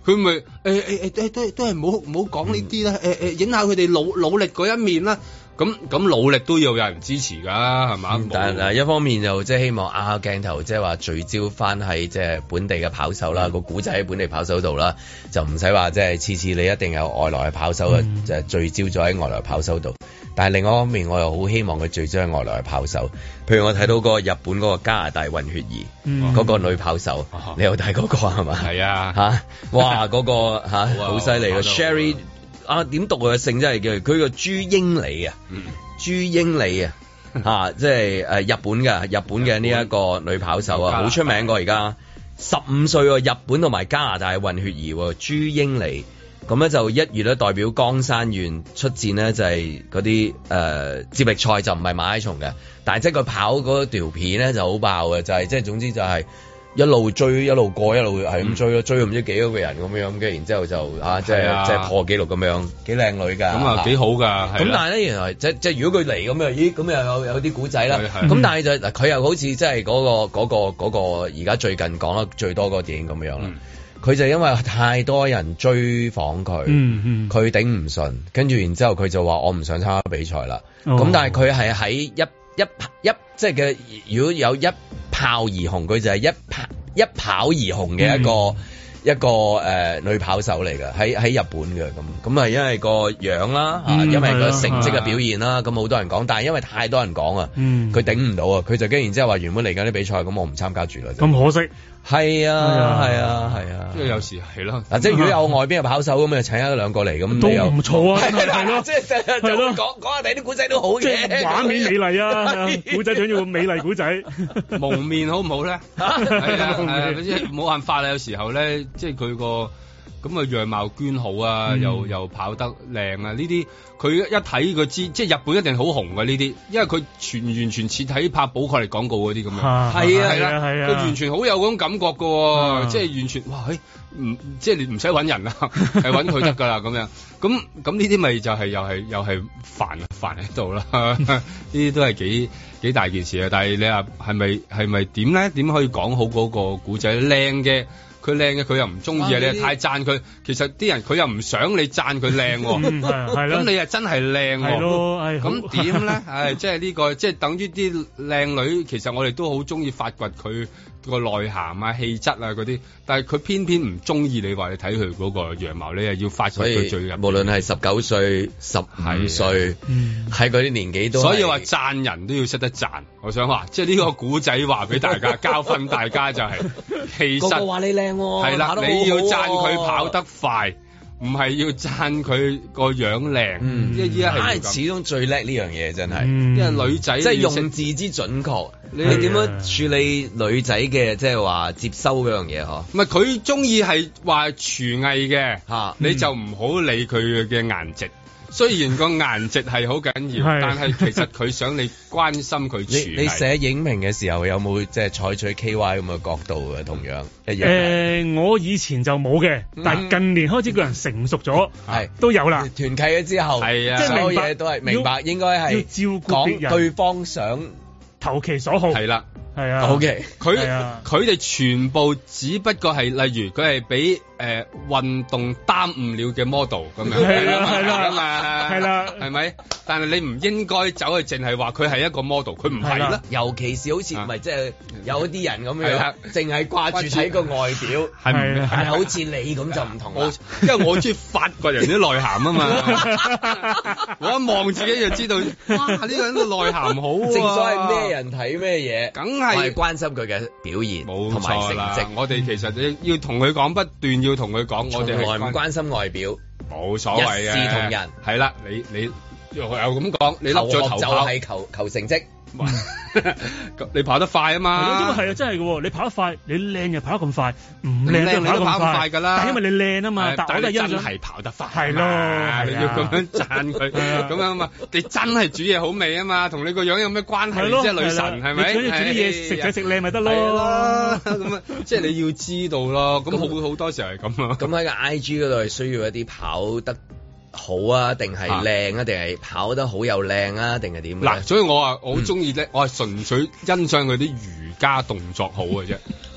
佢咪都係唔好講呢啲啦，影下佢哋努力嗰一面啦。咁努力都要有人支持㗎，係嘛？ 但係一方面就即係希望鏡頭即係話聚焦翻喺即係本地嘅跑手啦，個古仔喺本地跑手度啦，就唔使話即係次次你一定有外來嘅跑手就係聚焦咗喺外來跑手度。但係另外一方面，我又好希望佢聚焦喺外來嘅跑手。譬如我睇到個日本嗰個加拿大混血兒嗰個女跑手，你有睇嗰個係嘛？係啊，哇嗰個好犀利嘅 Sherry。點讀佢嘅姓真係叫佢個朱英里啊，朱英里啊，即係日本嘅呢一個女跑手啊，好出名過而家15歲喎，日本同埋加拿大混血兒喎，朱英里。咁咧就1月咧代表江山縣出戰呢，就係嗰啲接力賽，就唔係馬拉松嘅，但係即係佢跑嗰條片咧就好爆嘅，就係即係總之就係。一路追一路過一路係咁追咯，追咗唔知幾多個人咁樣，跟住然之後就即係破紀錄咁樣，幾靚女㗎，咁啊幾好㗎。咁但係咧原來即係如果佢嚟咁樣，咦咁又有啲古仔啦。咁但係就嗱佢又好似即係嗰個而家最近講得最多個電影咁樣啦。佢就因為太多人追訪佢，佢頂唔順，跟住然之後佢就話我唔想參加比賽啦。咁但係佢係喺一即係嘅，如果有一炮而紅，佢就係一跑而紅嘅一個女跑手嚟嘅，喺日本嘅咁係因為個樣啦，因為個成績嘅表現啦，咁好多人講，但係因為太多人講啊，佢頂唔到啊，佢就跟然之後話原本嚟緊啲比賽，咁我唔參加住啦。咁可惜。係啊，即係有時係咯。嗱，即係如果有外邊嘅跑手咁，就請一兩個嚟咁，都唔錯啊。係咯，即係講下第啲古仔都好嘅，即係畫面美麗啊，古仔仲要美麗古仔。 蒙面好唔好咧？係啊，即係冇辦法啦。有時候咧，即係佢個咁嘅樣貌娟好啊，又跑得靚啊，呢啲佢一睇佢知，即係日本一定好紅嘅呢啲，因為佢完全似睇拍寶礦力廣告嗰啲咁樣。係啊，佢完全好有嗰種感覺㗎，即係完全哇，即係你唔使揾人啦，係揾佢得㗎啦咁樣。咁呢啲咪就係又係煩喺度啦。呢啲都係幾大件事啊！但係你話係咪點咧？點可以講好嗰個古仔靚嘅？佢靚嘅佢又唔中意啊！你太讚佢，其實啲人佢又唔想你讚佢靚喎。咁你又真係靚喎。咁點咧？即係呢個即係等於啲靚女，其實我哋都好中意發掘佢個內涵啊、氣質啊嗰啲，但係佢偏偏唔中意你話你睇佢嗰個樣貌，你又要發掘佢最入。無論係19歲、15歲，喺嗰啲年紀都。所以話讚人都要識得讚。我想話，即係呢個古仔話俾大家教訓大家就係，其實個個話你靚。係啦，你要讚佢跑得快，唔係要讚佢個樣靚。因為依家係始終最叻呢樣嘢，真係。因為女仔即係用字之準確，你點樣處理女仔嘅即係話接收嗰樣嘢嗬？唔係佢中意係話廚藝嘅吓，你就唔好理佢嘅顏值。雖然個顏值係好緊要，但係其實佢想你關心佢廚藝。你寫影評嘅時候有冇即係採取 KY 咁嘅角度嘅？同樣一樣。我以前就冇嘅，但係近年開始個人成熟咗，都有啦。團契咗之後，係啊，即係所有嘢都係明白，應該係要照顧別人，對方想投其所好。係啦，係啊。OK，佢哋全部只不過係例如佢係俾運動耽誤了嘅 model 咁樣，係啦，係咪？但係你唔應該走去淨係話佢係一個 model，佢唔係啦。尤其是好似唔係即係有啲人咁樣，淨係掛住睇個外表，係好似你咁就唔同啦。因為我中意發掘人啲內涵啊嘛，我一望自己就知道，哇！呢個人嘅內涵好啊。正所謂咩人睇咩嘢，梗係關心佢嘅表現同埋成績。我哋其實要同佢講，不斷要同佢講，我哋係唔關心外表，冇所謂嘅，一視同仁。係啦，你又咁講，你笠咗頭就係求成績。你跑得快啊嘛，因為係啊，真係嘅。你跑得快，你靚又跑得咁快，唔靚你都跑咁快噶啦。但因為你靚啊嘛，但係真係跑得快，係咯，你要咁樣讚佢，咁樣啊嘛。你真係煮嘢好味啊嘛，同你個樣有咩關係？即係女神係咪？煮啲嘢食就食靚咪得咯。咁啊，即係你要知道咯。咁好多時候係咁啊。咁喺個 IG 嗰度係需要一啲跑得好啊，定係靚啊，定係跑得好又靚啊，定係點？嗱，所以我好中意咧，我係純粹欣賞佢啲瑜伽動作好嘅啫。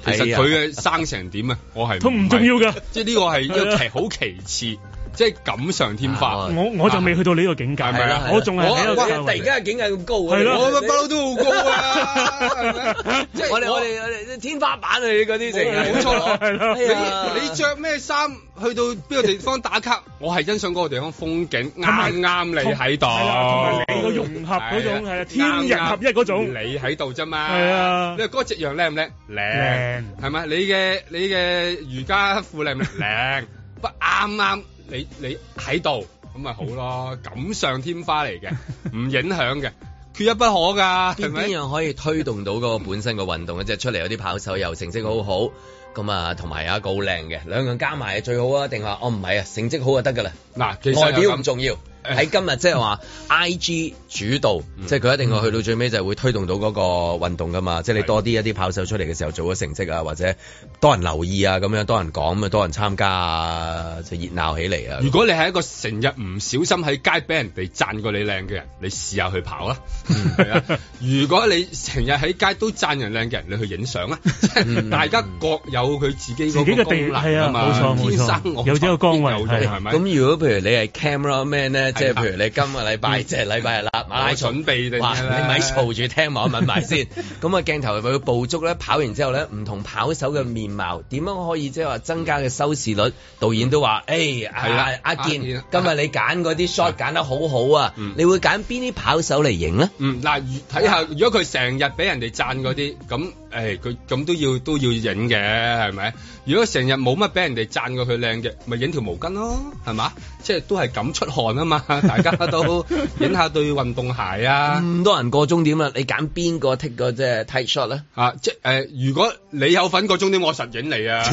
其實佢嘅生成點啊，我係都唔重要㗎， 即係呢個係一個好其次。即係錦上添花， 我就未去到呢個境界，係咪啊？我仲係喺度。 突然間嘅境界咁高， 係咯， 我不嬲都好高啊！ 即係我哋天花板啊！嗰啲成冇錯， 係咯。 你着咩衫去到邊個地方打卡？我係欣賞嗰個地方風景啱你喺度， 同埋你個融合嗰種係天人合一嗰種， 你喺度啫嘛。 係啊， 你話嗰隻樣靚唔靚？靚係咪？你嘅瑜伽褲靚唔靚？不啱。你喺度咁咪好咯，錦上添花嚟嘅，唔影響嘅，缺一不可㗎，係咪？ 邊樣可以推動到嗰個本身個運動咧？即係出嚟有啲跑手又成績好好，咁啊，同埋有一個好靚嘅，兩樣加埋係最好啊？定話唔係啊？成績好就得㗎啦。嗱，其實外表唔重要。喺今日即係話 IG 主導，即係佢一定要去到最尾就係會推動到嗰個運動噶嘛。即係你多啲一啲跑手出嚟嘅時候做咗成績啊，或者多人留意啊，咁樣多人講咁啊，多人參加啊，就熱鬧起嚟啊。 如果你係一個成日唔小心喺街俾人哋讚過你靚嘅人，你試下去跑啦。係啊，如果你成日喺街都讚人靚嘅人，你去影相啊。大家各有佢自己嗰個功能啊嘛。 冇錯，有呢個崗位係咪？咁如果譬如你係 camera man 咧？即係譬如你今個禮拜即係禮拜日啦，馬拉松準備定哇！你咪嘈住聽我問埋先。咁啊鏡頭會捕捉咧，跑完之後咧，唔同跑手嘅面貌點樣可以即係話增加嘅收視率？導演都話：誒阿健，今日你揀嗰啲 shot 揀得好好啊！你會揀邊啲跑手嚟影咧？ 嗱，睇下如果佢成日俾人哋讚嗰啲，咁佢咁都要影嘅，係咪？如果成日冇乜俾人哋讚過佢靚嘅，咪影條毛巾咯，係嘛？即係都係咁出汗啊嘛！大家都影下對運動鞋啊！ 咁多人過終點啦，你揀邊個 take 個即係 tight shot 咧？ 即係如果你有份過終點，我實影你啊！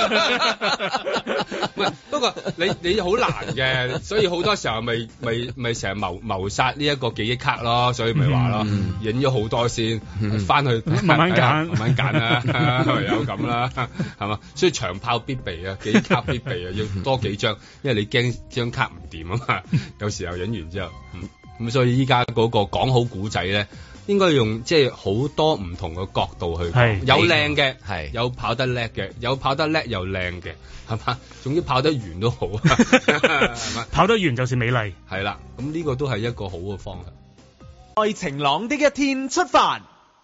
唔係，不過你好難嘅，所以好多時候咪成日謀殺呢一個記憶卡咯，所以咪話咯，影咗好多先，翻去慢慢揀啦，唯有咁啦，係嘛？所以長炮必備啊，記憶卡必備啊，要多幾張，因為你驚張卡唔掂啊嘛，有時候影完之後，咁所以依家嗰個講好古仔咧，應該用即係好多唔同嘅角度去講，有靚嘅，係有跑得叻嘅，有跑得叻又靚嘅，係嘛？總之跑得完都好，係嘛？ 跑得完就是美麗， 係啦，咁呢個都係一個好嘅方向。 在晴朗的一天出發。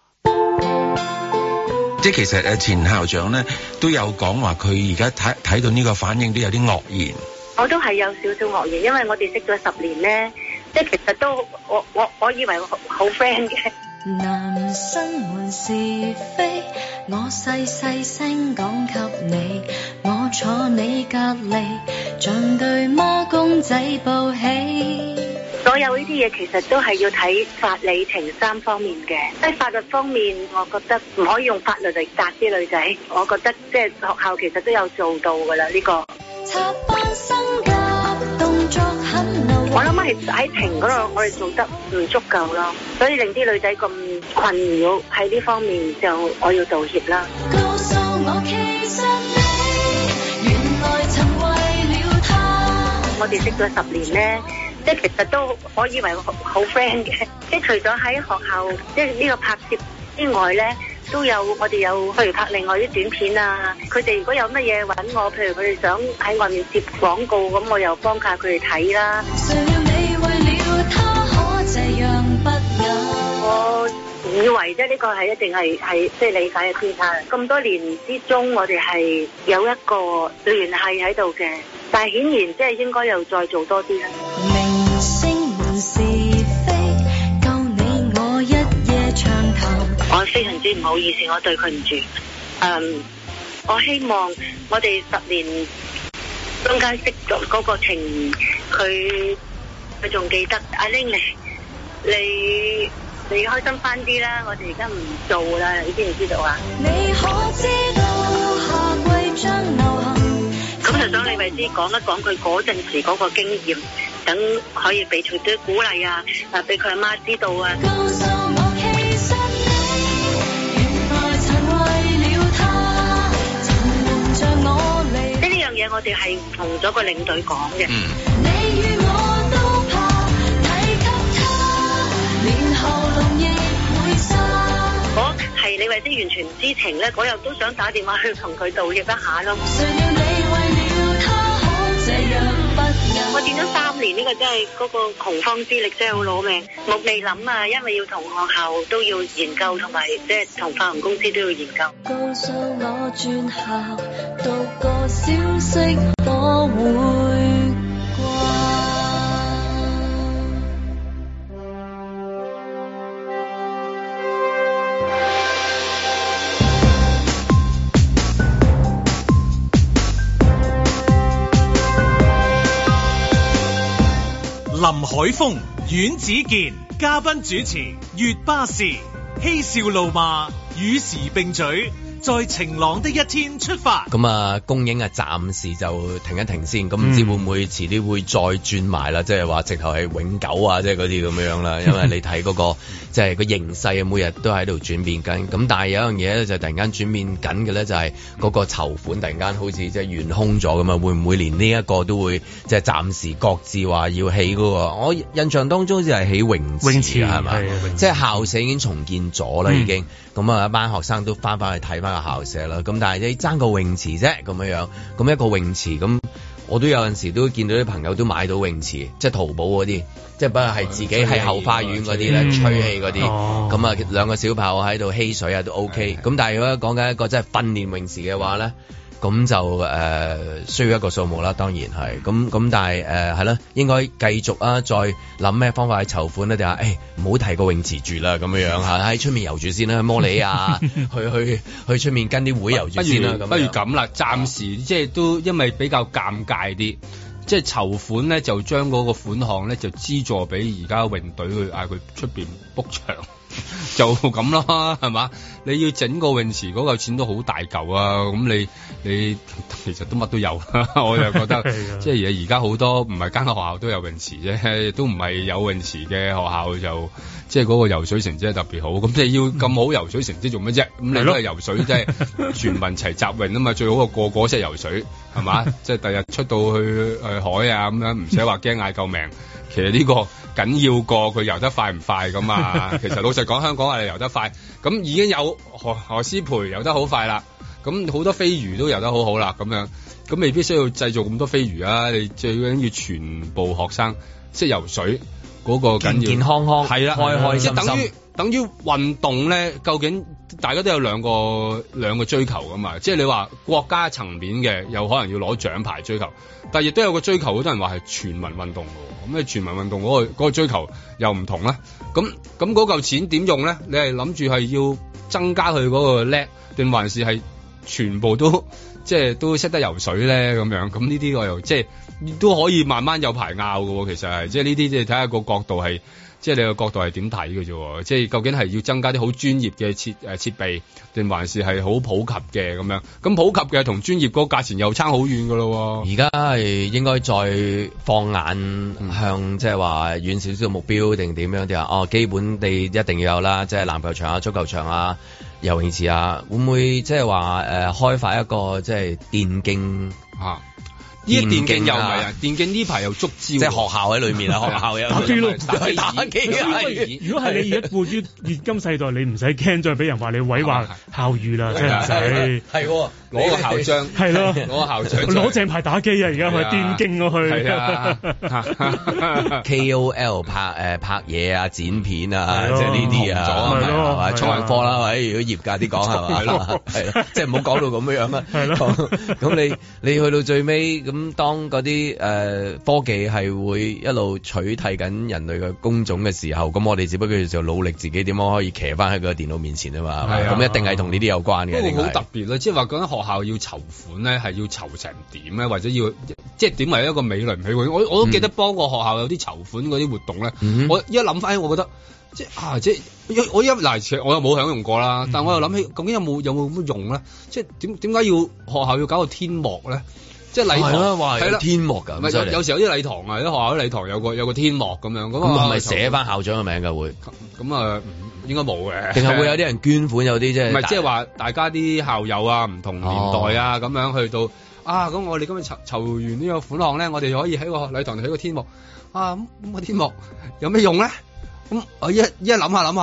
即係其實前校長咧都有講話，佢而家睇到呢個反應都有啲愕然。 我都係有少少愕然，因為我哋識咗10年咧，即係其實都我以為好 friend 嘅。 男生們是非，我細細聲講給你，我坐你隔離，像對孖公仔報喜。 所有呢啲嘢其實都係要睇法理情3方面嘅。喺法律方面，我覺得唔可以用法律嚟責啲女仔。我覺得即係學校其實都有做到㗎啦，呢個。我諗係喺庭嗰度，我哋做得唔足夠咯，所以令啲女仔咁困擾喺呢方面，就我要道歉啦。告訴我其實你原來曾為了他。我哋識咗10年咧。即係其實都可以為好 friend 嘅，即係除咗喺學校即係呢個拍攝之外咧，都有我哋有譬如拍另外啲短片啊。佢哋如果有乜嘢揾我，譬如佢哋想喺外面接廣告，咁我又幫下佢哋睇啦。我以為即係呢個係一定係即係理解嘅偏差。咁多年之中，我哋係有一個聯繫喺度嘅，但係顯然即係應該又再做多啲啦。明星們是非，夠你我一夜長談。我非常之唔好意思，我對佢唔住。我希望我哋10年中間識咗嗰個情，佢仲記得。阿玲你開心翻啲啦，我哋而家唔做啦，你知唔知道啊？你可知道夏季將流行？咁就想你咪知講一講佢嗰陣時嗰個經驗，等可以俾佢啲鼓勵啊，俾佢阿媽知道啊。告訴我其實你原來曾為了他，曾瞞着我離。即係呢樣嘢，我哋係同咗個領隊講嘅。你與我都怕睇給他，連喉嚨亦會沙。我係李慧詩完全唔知情咧，我又都想打電話去同佢道歉一下咯。我見咗3年，呢個真係嗰個洪荒之力真係好攞命，我未諗啊，因為要同學校都要研究，同埋即係同化學公司都要研究。告訴我轉校讀個消息，我會林海峰、阮子健嘉賓主持，月巴士嬉笑怒罵，與時並舉，在晴朗的一天出發。 咁啊，公映啊，暫時就停一停先。咁唔知會唔會遲啲會再轉埋啦？即係話直頭係永久啊，即係嗰啲咁樣啦。因為你睇嗰個即係個形勢啊，每日都喺度轉變緊。咁但係有一樣嘢咧，就突然間轉變緊嘅咧，就係嗰個籌款突然間好似即係懸空咗咁啊！會唔會連呢一個都會即係暫時擱置話要起嗰個？我印象當中好似係起泳池係咪？即係校舍已經重建咗啦，已經。咁啊，一班學生都翻去睇翻個校舍啦。咁但係你爭個泳池啫，咁樣。咁一個泳池咁，我都有陣時都見到啲朋友都買到泳池，即係淘寶嗰啲，即係不過係自己喺後花園嗰啲咧吹氣嗰啲。咁啊，兩個小朋友喺度嬉水啊都 OK。咁但係如果講緊一個即係訓練泳池嘅話咧，咁就需要一個數目啦，當然係。咁但係係啦，應該繼續啊，再諗咩方法去籌款咧？定係唔好提個泳池住啦，咁樣嚇喺出面遊住先啦，摩里啊，去出面跟啲會遊住先啦。 不如咁啦，暫時即係都因為比較尷尬啲，即係籌款咧就將嗰個款項咧就資助俾而家泳隊去嗌佢出邊 book 場。就咁咯，係嘛？你要整個泳池嗰嚿錢都好大嚿啊！咁你其實都乜都有，我就覺得即係而家好多唔係間學校都有泳池啫，都唔係有泳池嘅學校就即係嗰個游水成績特別好。咁即係要咁好游水成績做乜啫？咁你都係游水即係全民齊集泳啊嘛！最好個個識游水係嘛？即係第日出到去海啊咁樣，唔使話驚嗌救命。其實呢個緊要過佢游得快唔快咁啊！其實老實講，香港係游得快，咁已經有何詩蓓游得好快啦，咁好多飛魚都游得好好啦，咁樣咁未必需要製造咁多飛魚啊！你最緊要全部學生識游水嗰個緊要， 健健康康係啦， 開開心心。 即係等於運動咧，究竟大家都有兩個追求噶嘛？即係你話國家層面嘅，有可能要攞獎牌追求，但係亦都有個追求，好多人話係全民運動嘅。咁你全民運動嗰個追求又唔同啦。咁嗰嚿錢點用咧？你係諗住係要增加佢嗰個叻，定還是係全部都即係都識得游水咧？咁樣咁呢啲我又即係都可以慢慢有排拗嘅。其實係即係呢啲即係睇下個角度係。即係你個角度係點睇嘅啫？即係究竟係要增加啲好專業嘅設備，定還是係好普及嘅咁樣？咁普及嘅同專業嗰個價錢又差好遠㗎咯。 而家係應該再放眼向即係話遠少少目標定點樣啲啊？哦，基本地一定要有啦，即係籃球場啊、足球場啊、游泳池啊，會唔會即係話開發一個即係電競啊？ 呢啲電競又唔係啊！電競呢排又捉招， 即係學校喺裏面啊！學校有打機咯， 打機啊！ 如果係你而家過於現今世代，你唔使驚再俾人話你毀壞校譽啦，真係唔使。 係攞個校章， 係咯， 攞個校章， 攞正牌打機啊！而家去電競我去。 係啊 ，KOL 拍嘢啊、剪片啊，即係呢啲啊，係嘛？創人科啦，或者如果業界啲講係嘛？係咯，係咯，即係唔好講到咁樣啊。係咯，咁你去到最尾。咁當嗰啲科技係會一路取替緊人類嘅工種嘅時候，咁我哋只不過就努力自己點樣可以騎翻喺個電腦面前啊嘛，咁一定係同呢啲有關嘅。 不過好特別啦，即係話嗰間學校要籌款咧，係要籌成點咧，或者要即係點為一個美輪美奐？我都記得幫個學校有啲籌款嗰啲活動咧，我一諗翻，我覺得即係我其實我又冇享用過啦，但我又諗起究竟有冇乜用咧？即係點解要學校要搞個天幕咧？即係禮堂係啦，天幕㗎， 有時有啲禮堂啊，啲學校啲禮堂有個天幕咁樣，咁係咪寫翻校長嘅名㗎會？ 咁啊，應該冇嘅。 定係會有啲人捐款，有啲即係唔係即係話大家啲校友啊，唔同年代啊，咁樣去到啊，咁我哋今日籌完呢個款項咧，我哋可以喺個禮堂度起個天幕啊，咁個天幕有咩用咧？咁我一諗下，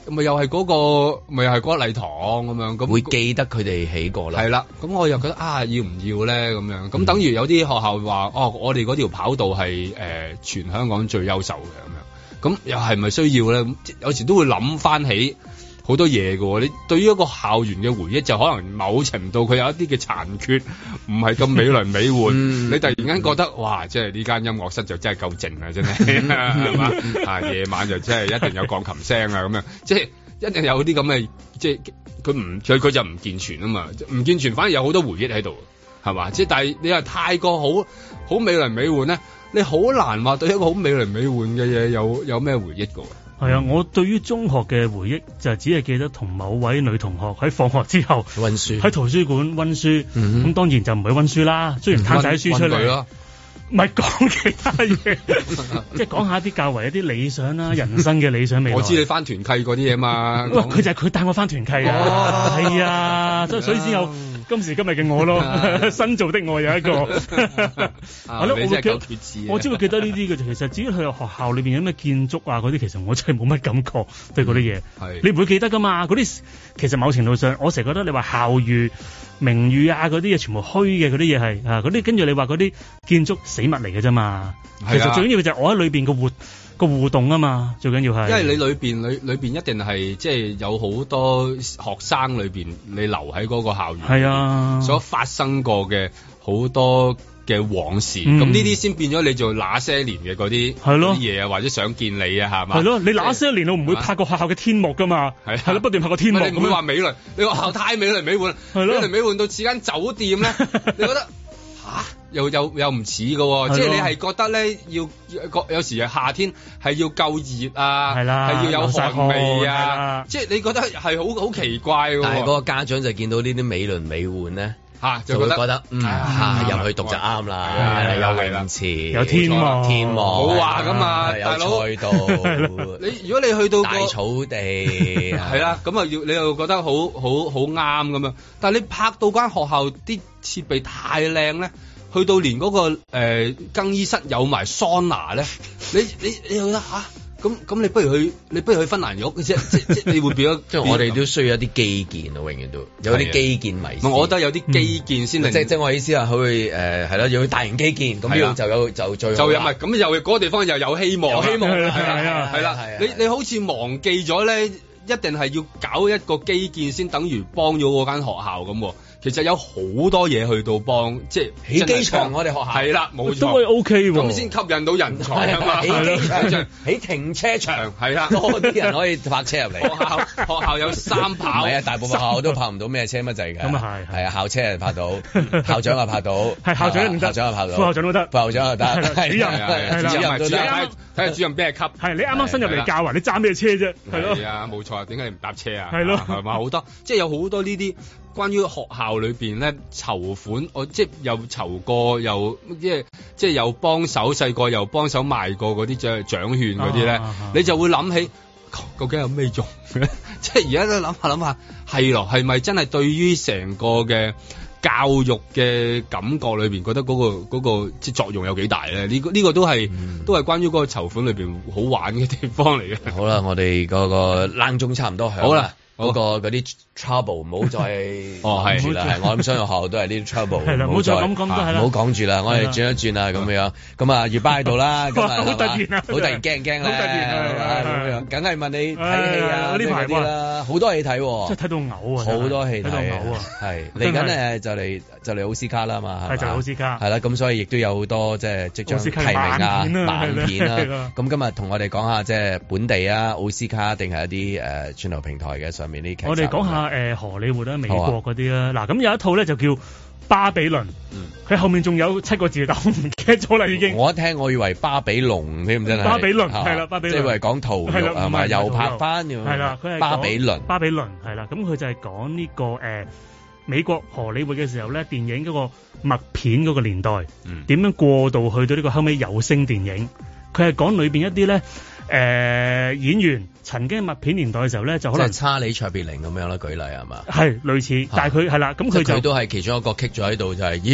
咪又係嗰個，咪又係嗰個禮堂咁樣，咁會記得佢哋起過啦。 係啦，咁我又覺得要唔要咧咁樣？咁等於有啲學校話我哋嗰條跑道係全香港最優秀嘅咁樣，咁又係咪需要咧？有時都會諗翻起好多嘢㗎。你對於一個校園嘅回憶，就可能某程度佢有一啲嘅殘缺，唔係咁美輪美奐。你突然間覺得哇，即係呢間音樂室就真係夠靜啊，真係係嘛？夜晚就真係一定有鋼琴聲啊，咁樣即係一定有啲咁嘅，即係佢就唔健全啊嘛，唔健全反而有好多回憶喺度，係嘛？即係但係你話太過好美輪美奐咧，你好難話對一個好美輪美奐嘅嘢有咩回憶㗎。 係啊，我對於中學嘅回憶就只係記得同某位女同學喺放學之後溫書， 喺圖書館溫書。咁當然就唔係溫書啦，雖然攤晒啲書出嚟，唔係講其他嘢，即係講下啲較為一啲理想啦，人生嘅理想未來。 我知你翻團契嗰啲嘢嘛， 佢就係佢帶我翻團契啊，係啊，所以先有今時今日嘅我咯，新造的我有一個。係咯，我只會記得呢啲嘅。其實至於去學校裏邊有咩建築啊嗰啲，其實我真係冇乜感覺對嗰啲嘢。你唔會記得噶嘛？嗰啲其實某程度上，我成日覺得你話校譽、名譽啊嗰啲嘢全部虛嘅，嗰啲嘢係嗰啲，跟住你話嗰啲建築死物嚟嘅啫嘛。其實最緊要就係我喺裏邊個互動啊嘛，最緊要係。因為你裏邊一定係即係有好多學生裏邊，你留喺嗰個校園，係啊，所發生過嘅好多嘅往事，咁呢啲先變咗你做那些年嘅嗰啲嘢啊，或者想見你啊，係嘛？係咯，你那些年我唔會拍過學校嘅天幕噶嘛，係咯，不斷拍過天幕。你唔會話美輪，你學校太美輪美奐，美輪美奐到似間酒店咧，你覺得？又唔似嘅，即係你係覺得咧，有時夏天係要夠熱啊，係要有汗味啊，即係你覺得係好奇怪嘅。但係嗰個家長就見到呢啲美輪美奐咧，就會覺得入去讀就啱啦，有泳池，有天幕，冇話㗎嘛，有賽道。如果你去到大草地，係啦，咁你又覺得好啱咁樣。但係你拍到間學校啲設備太靚咧。去到連嗰個更衣室有埋桑拿咧，你覺得咁你不如去芬蘭浴即你會變咗，即係我哋都需要一啲基建啊，永遠都有啲基建迷思。我覺得有啲基建先令即係我意思係去係啦，要去大型基建咁樣就最好啦。咁又嗰個地方又有希望，有希望係啦。你好似忘記咗咧，一定係要搞一個基建先等於幫咗嗰間學校咁。其實有好多嘢去到幫，即係起機場，我哋學校係啦，冇錯都會 OK 喎，咁先吸引到人才啊嘛。起機場、起停車場係啦，多啲人可以泊車入嚟。學校有3跑，係啊，大部分學校都泊唔到咩車乜滯嘅。咁啊係啊，校車係泊到，校長啊泊到，係校長唔得，校長啊泊到，副校長都得，副校長又得，主任係主任都得，睇下主任咩級。係你啱啱新入嚟教啊，你揸咩車啫？係咯，係啊，冇錯，點解你唔搭車啊？係咯，係嘛，好多，即係有好多呢啲。關於學校裏邊咧籌款，我即係又籌過，又即係又幫手，細個又幫手賣過嗰啲獎券嗰啲咧，你就會諗起究竟有咩用咧？即係而家都諗下，係咯，係咪真係對於成個嘅教育嘅感覺裏邊，覺得嗰個即係作用有幾大咧？呢個都係關於嗰個籌款裏邊好玩嘅地方嚟嘅。好啦，我哋嗰個冷鐘差唔多響。好啦。嗰啲 trouble 唔好再講住啦，係我諗所有學校都係呢啲 trouble，係啦，唔好再咁講都係啦，唔好講住啦，我哋轉一轉啦咁樣，咁啊月巴喺度啦，咁啊好突然啊，好突然驚啦，好突然啊咁樣，梗係問你睇戲啊呢排啲啦，好多戲睇，即係睇到嘔啊，好多戲睇到嘔啊，係嚟緊就嚟奧斯卡啦嘛，係就奧斯卡，係啦，咁所以亦都有好多即係即將提名啊慢片啦，咁今日同我哋講下即係本地啊奧斯卡定係一啲串流平台嘅上。我哋講下荷里活啦，美國嗰啲啦。嗱，咁有一套咧就叫《巴比倫》，佢後面仲有7個字，但我唔記得咗啦已經。我一聽我以為巴比龍添，真係。巴比倫係啦，巴比倫即係為講屠肉係嘛，又拍翻係啦，佢係巴比倫。巴比倫係啦，咁佢就係講呢個美國荷里活嘅時候咧，電影嗰個默片嗰個年代，點樣過渡去到呢個後尾有聲電影。佢係講裏邊一啲咧。演員曾經默片年代嘅時候咧，就可能差李卓別靈咁樣啦，舉例係嘛？係類似，但係佢係啦，咁佢都係其中一個棘咗喺度，就係咦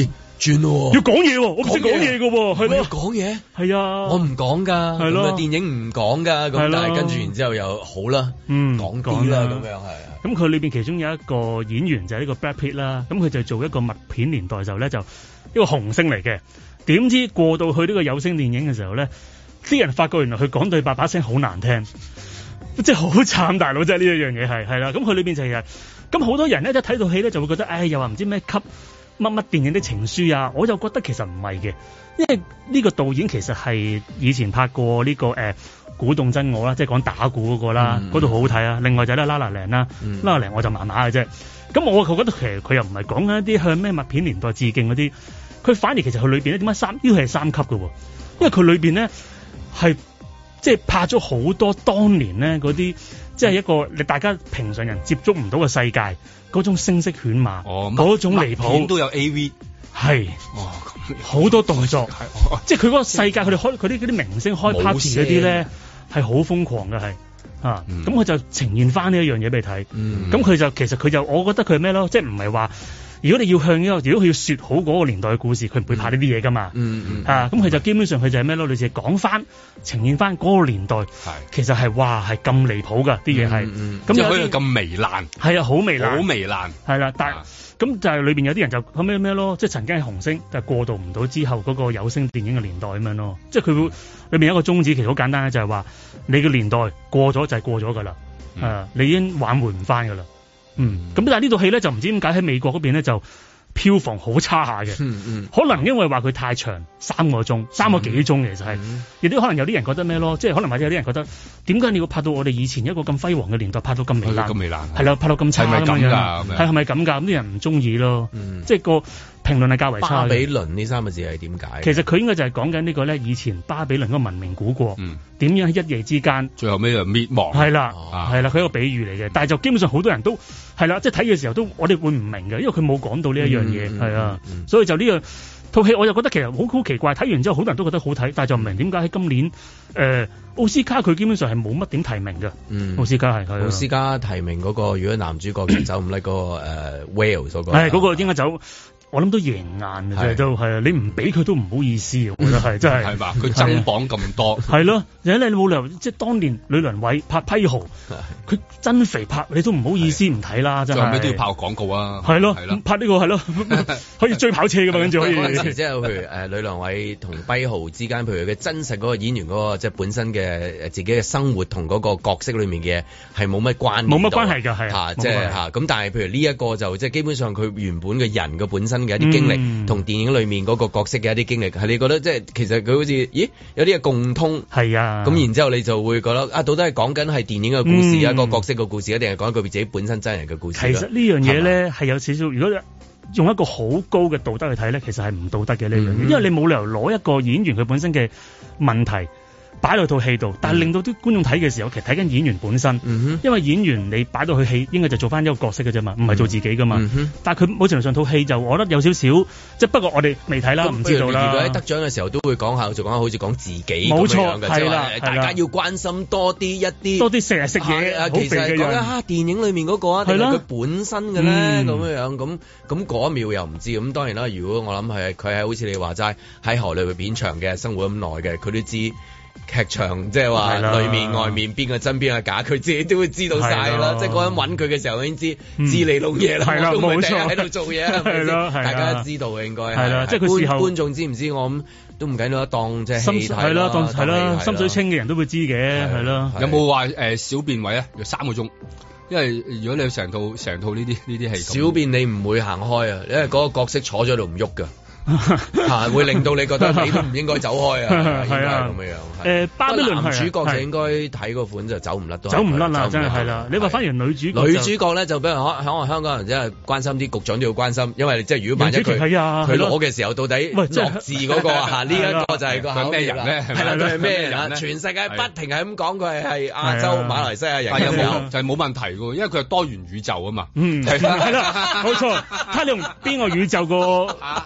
轉咯， 要講嘢喎，我唔識講嘢㗎喎，係咯， 要講嘢， 係啊， 我唔講㗎，係咯，電影唔講㗎，咁但係跟住然之後又好啦，講啲啦，咁樣係。 咁佢裏邊其中有一個演員就係呢個 Brad Pitt 啦，咁佢就做一個默片年代時候咧，就一個紅星嚟嘅。點知過到去呢個有聲電影嘅時候咧，啲人發覺原來佢講對白把聲好難聽，即係好慘大佬，即係呢一樣嘢係啦。咁佢裏邊就係咁好多人咧一睇到戲咧就會覺得，唉，又話唔知咩級乜乜電影的情書啊，我就覺得其實唔係嘅，因為呢個導演其實係以前拍過呢個鼓動真我啦，即係講打鼓嗰個啦，嗰度好好睇啊。另外就係 La La Land 啦，La La Land 我就麻麻嘅啫。咁我覺得其實佢又唔係講緊一啲向咩默片年代致敬嗰啲，佢反而其實佢裏邊咧點解呢個係三級嘅喎？因為佢裏邊咧係即係拍咗好多當年咧嗰啲，即係一個你大家平常人接觸唔到嘅世界嗰種聲色犬馬，嗰種離譜都有 AV 係，好多動作，即係佢嗰個世界，佢哋開佢啲明星開 party 嗰啲咧係好瘋狂嘅係。咁佢就呈現翻呢一樣嘢俾你睇，咁佢就其實佢就我覺得佢係咩咯，即係唔係話如果你要向呢個，如果佢要説好嗰個年代嘅故事，佢唔會拍呢啲嘢噶嘛，咁佢就基本上佢就係咩咯，類似講翻呈現翻嗰個年代，其實係哇係咁離譜噶啲嘢係，咁有啲咁糜爛， 係啊好糜爛， 好糜爛， 係啦，但咁就係裏邊有啲人就後尾咩咯，即係曾經係紅星，但係過渡唔到之後嗰個有聲電影嘅年代咁樣咯，即係佢會裏面有一個宗旨其實好簡單嘅，就係話你嘅年代過咗就係過咗㗎啦，你已經挽回唔翻㗎啦，咁但係呢套戲咧就唔知點解喺美國嗰邊咧就票房好差下嘅，可能因為話佢太長3個鐘，3個幾鐘其實係，亦都可能有啲人覺得咩咯，即係可能或者有啲人覺得點解你要拍到我哋以前一個咁輝煌嘅年代拍到咁糜爛，係啦，拍到咁差咁樣，係咪咁㗎？咁啲人唔中意咯，即係個評論係較為差嘅。巴比倫呢3個字係點解？其實佢應該就係講緊呢個咧，以前巴比倫嗰個文明古國點樣喺一夜之間， 最後尾就滅亡。係啦， 係啦，佢一個比喻嚟嘅，但係就基本上好多人都係啦，即係睇嘅時候都我哋會唔明嘅，因為佢冇講到呢一樣嘢，係啊，所以就呢個套戲我就覺得其實好奇怪，睇完之後好多人都覺得好睇，但係就唔明點解喺今年奧斯卡佢基本上係冇乜點提名嘅，奧斯卡係奧斯卡提名嗰個，如果男主角走唔甩嗰個Wales 嗰個， 係嗰個應該走。我諗都贏硬嘅，都係啊！你唔俾佢都唔好意思，我覺得係真係。 係嘛？佢增磅咁多。係咯，而且你冇理由，即係當年呂良偉拍批豪，佢真肥拍，你都唔好意思唔睇啦，真係。最後尾都要拍廣告啊！係咯，拍呢個係咯，可以追跑車㗎嘛，跟住可以。 嗰陣時即係譬如呂良偉同批豪之間，譬如佢真實嗰個演員嗰個即係本身嘅自己嘅生活同嗰個角色裏面嘅係冇乜關係㗎，係即係咁。但係譬如呢一個就即係基本上佢原本嘅人嘅本身嘅一啲經歷同電影裏面嗰個角色嘅一啲經歷，係你覺得即係其實佢好似咦有啲嘅共通係啊， 咁然之後你就會覺得啊，到底係講緊係電影嘅故事一個角色嘅故事，定係講佢自己本身真人嘅故事？ 其實呢樣嘢咧係有少少，如果用一個好高嘅道德去睇咧，其實係唔道德嘅呢樣嘢，因為你冇理由攞一個演員佢本身嘅問題擺落套戲度，但係令到啲觀眾睇嘅時候，其實睇緊演員本身，因為演員你擺到去戲，應該就做翻一個角色嘅啫嘛，唔係做自己噶嘛。但係佢某程度上套戲就，我覺得有少少，即係不過我哋未睇啦，唔知道啦。 如果喺得獎嘅時候都會講下，就講下好似講自己冇錯咁樣嘅，即係大家要關心多啲一啲， 多啲成日食嘢， 其實講緊電影裏面嗰個啊，定係佢本身嘅咧咁樣咁嗰一秒又唔知。咁當然啦，如果我諗係佢係好似你話齋喺河裏邊片長嘅生活咁耐嘅，佢都知。劇場即係話裏面外面邊個真邊個假，佢自己都會知道晒啦。即係嗰陣揾佢嘅時候已經知你老嘢啦。係啦，冇錯，喺度做嘢係咯，大家都知道嘅應該係啦。即係佢事後觀眾知唔知我諗都唔緊要，當即係戲睇係咯，係咯，心水清嘅人都會知嘅係咯。 有冇話小便位啊？要3個鐘，因為如果你成套呢啲戲， 小便你唔會行開啊，因為嗰個角色坐咗度唔喐㗎。會令到你覺得你都唔應該走開啊，係啊咁樣。 巴比倫男主角就應該睇嗰款就走唔甩， 走唔甩啦，真係係啦。你話反而女主角咧就比如可能香港人真係關心啲，局長都要關心，因為即係如果萬一佢攞嘅時候到底落字嗰個呢一個就係個咩人咧？係啦， 佢係咩人啊？全世界不停係咁講佢係亞洲馬來西亞人， 就係冇問題嘅，因為佢係多元宇宙啊嘛。 係啦，冇錯。睇你用邊個宇宙個層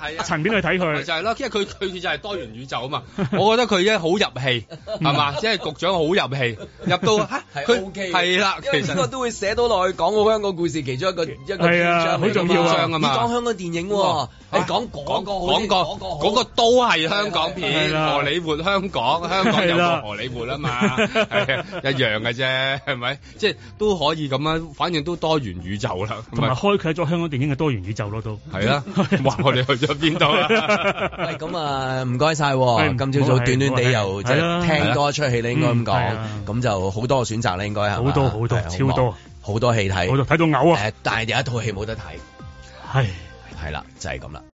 便去睇佢。 就係咯，因為佢就係多元宇宙啊嘛。我覺得佢咧好入戲，係嘛？即係局長好入戲，入到佢 OK 係啦。其實呢個都會寫到落去講好香港故事其中一個係啊，好重要啊嘛。 你講香港電影喎，你講嗰個都係香港片，荷里活香港有個荷里活啊嘛，係一樣嘅啫，係咪？即係都可以咁樣，反正都多元宇宙啦， 同埋開啟咗香港電影嘅多元宇宙咯，都係啦。話我哋去咗邊度啊？ 喂，咁啊，唔該晒。今朝早短短地又即係聽多一出戲咧，應該咁講，咁就好多選擇咧，應該係好多超多好多戲睇， 睇到嘔啊！ 但係有一套戲冇得睇， 係啦，就係咁啦。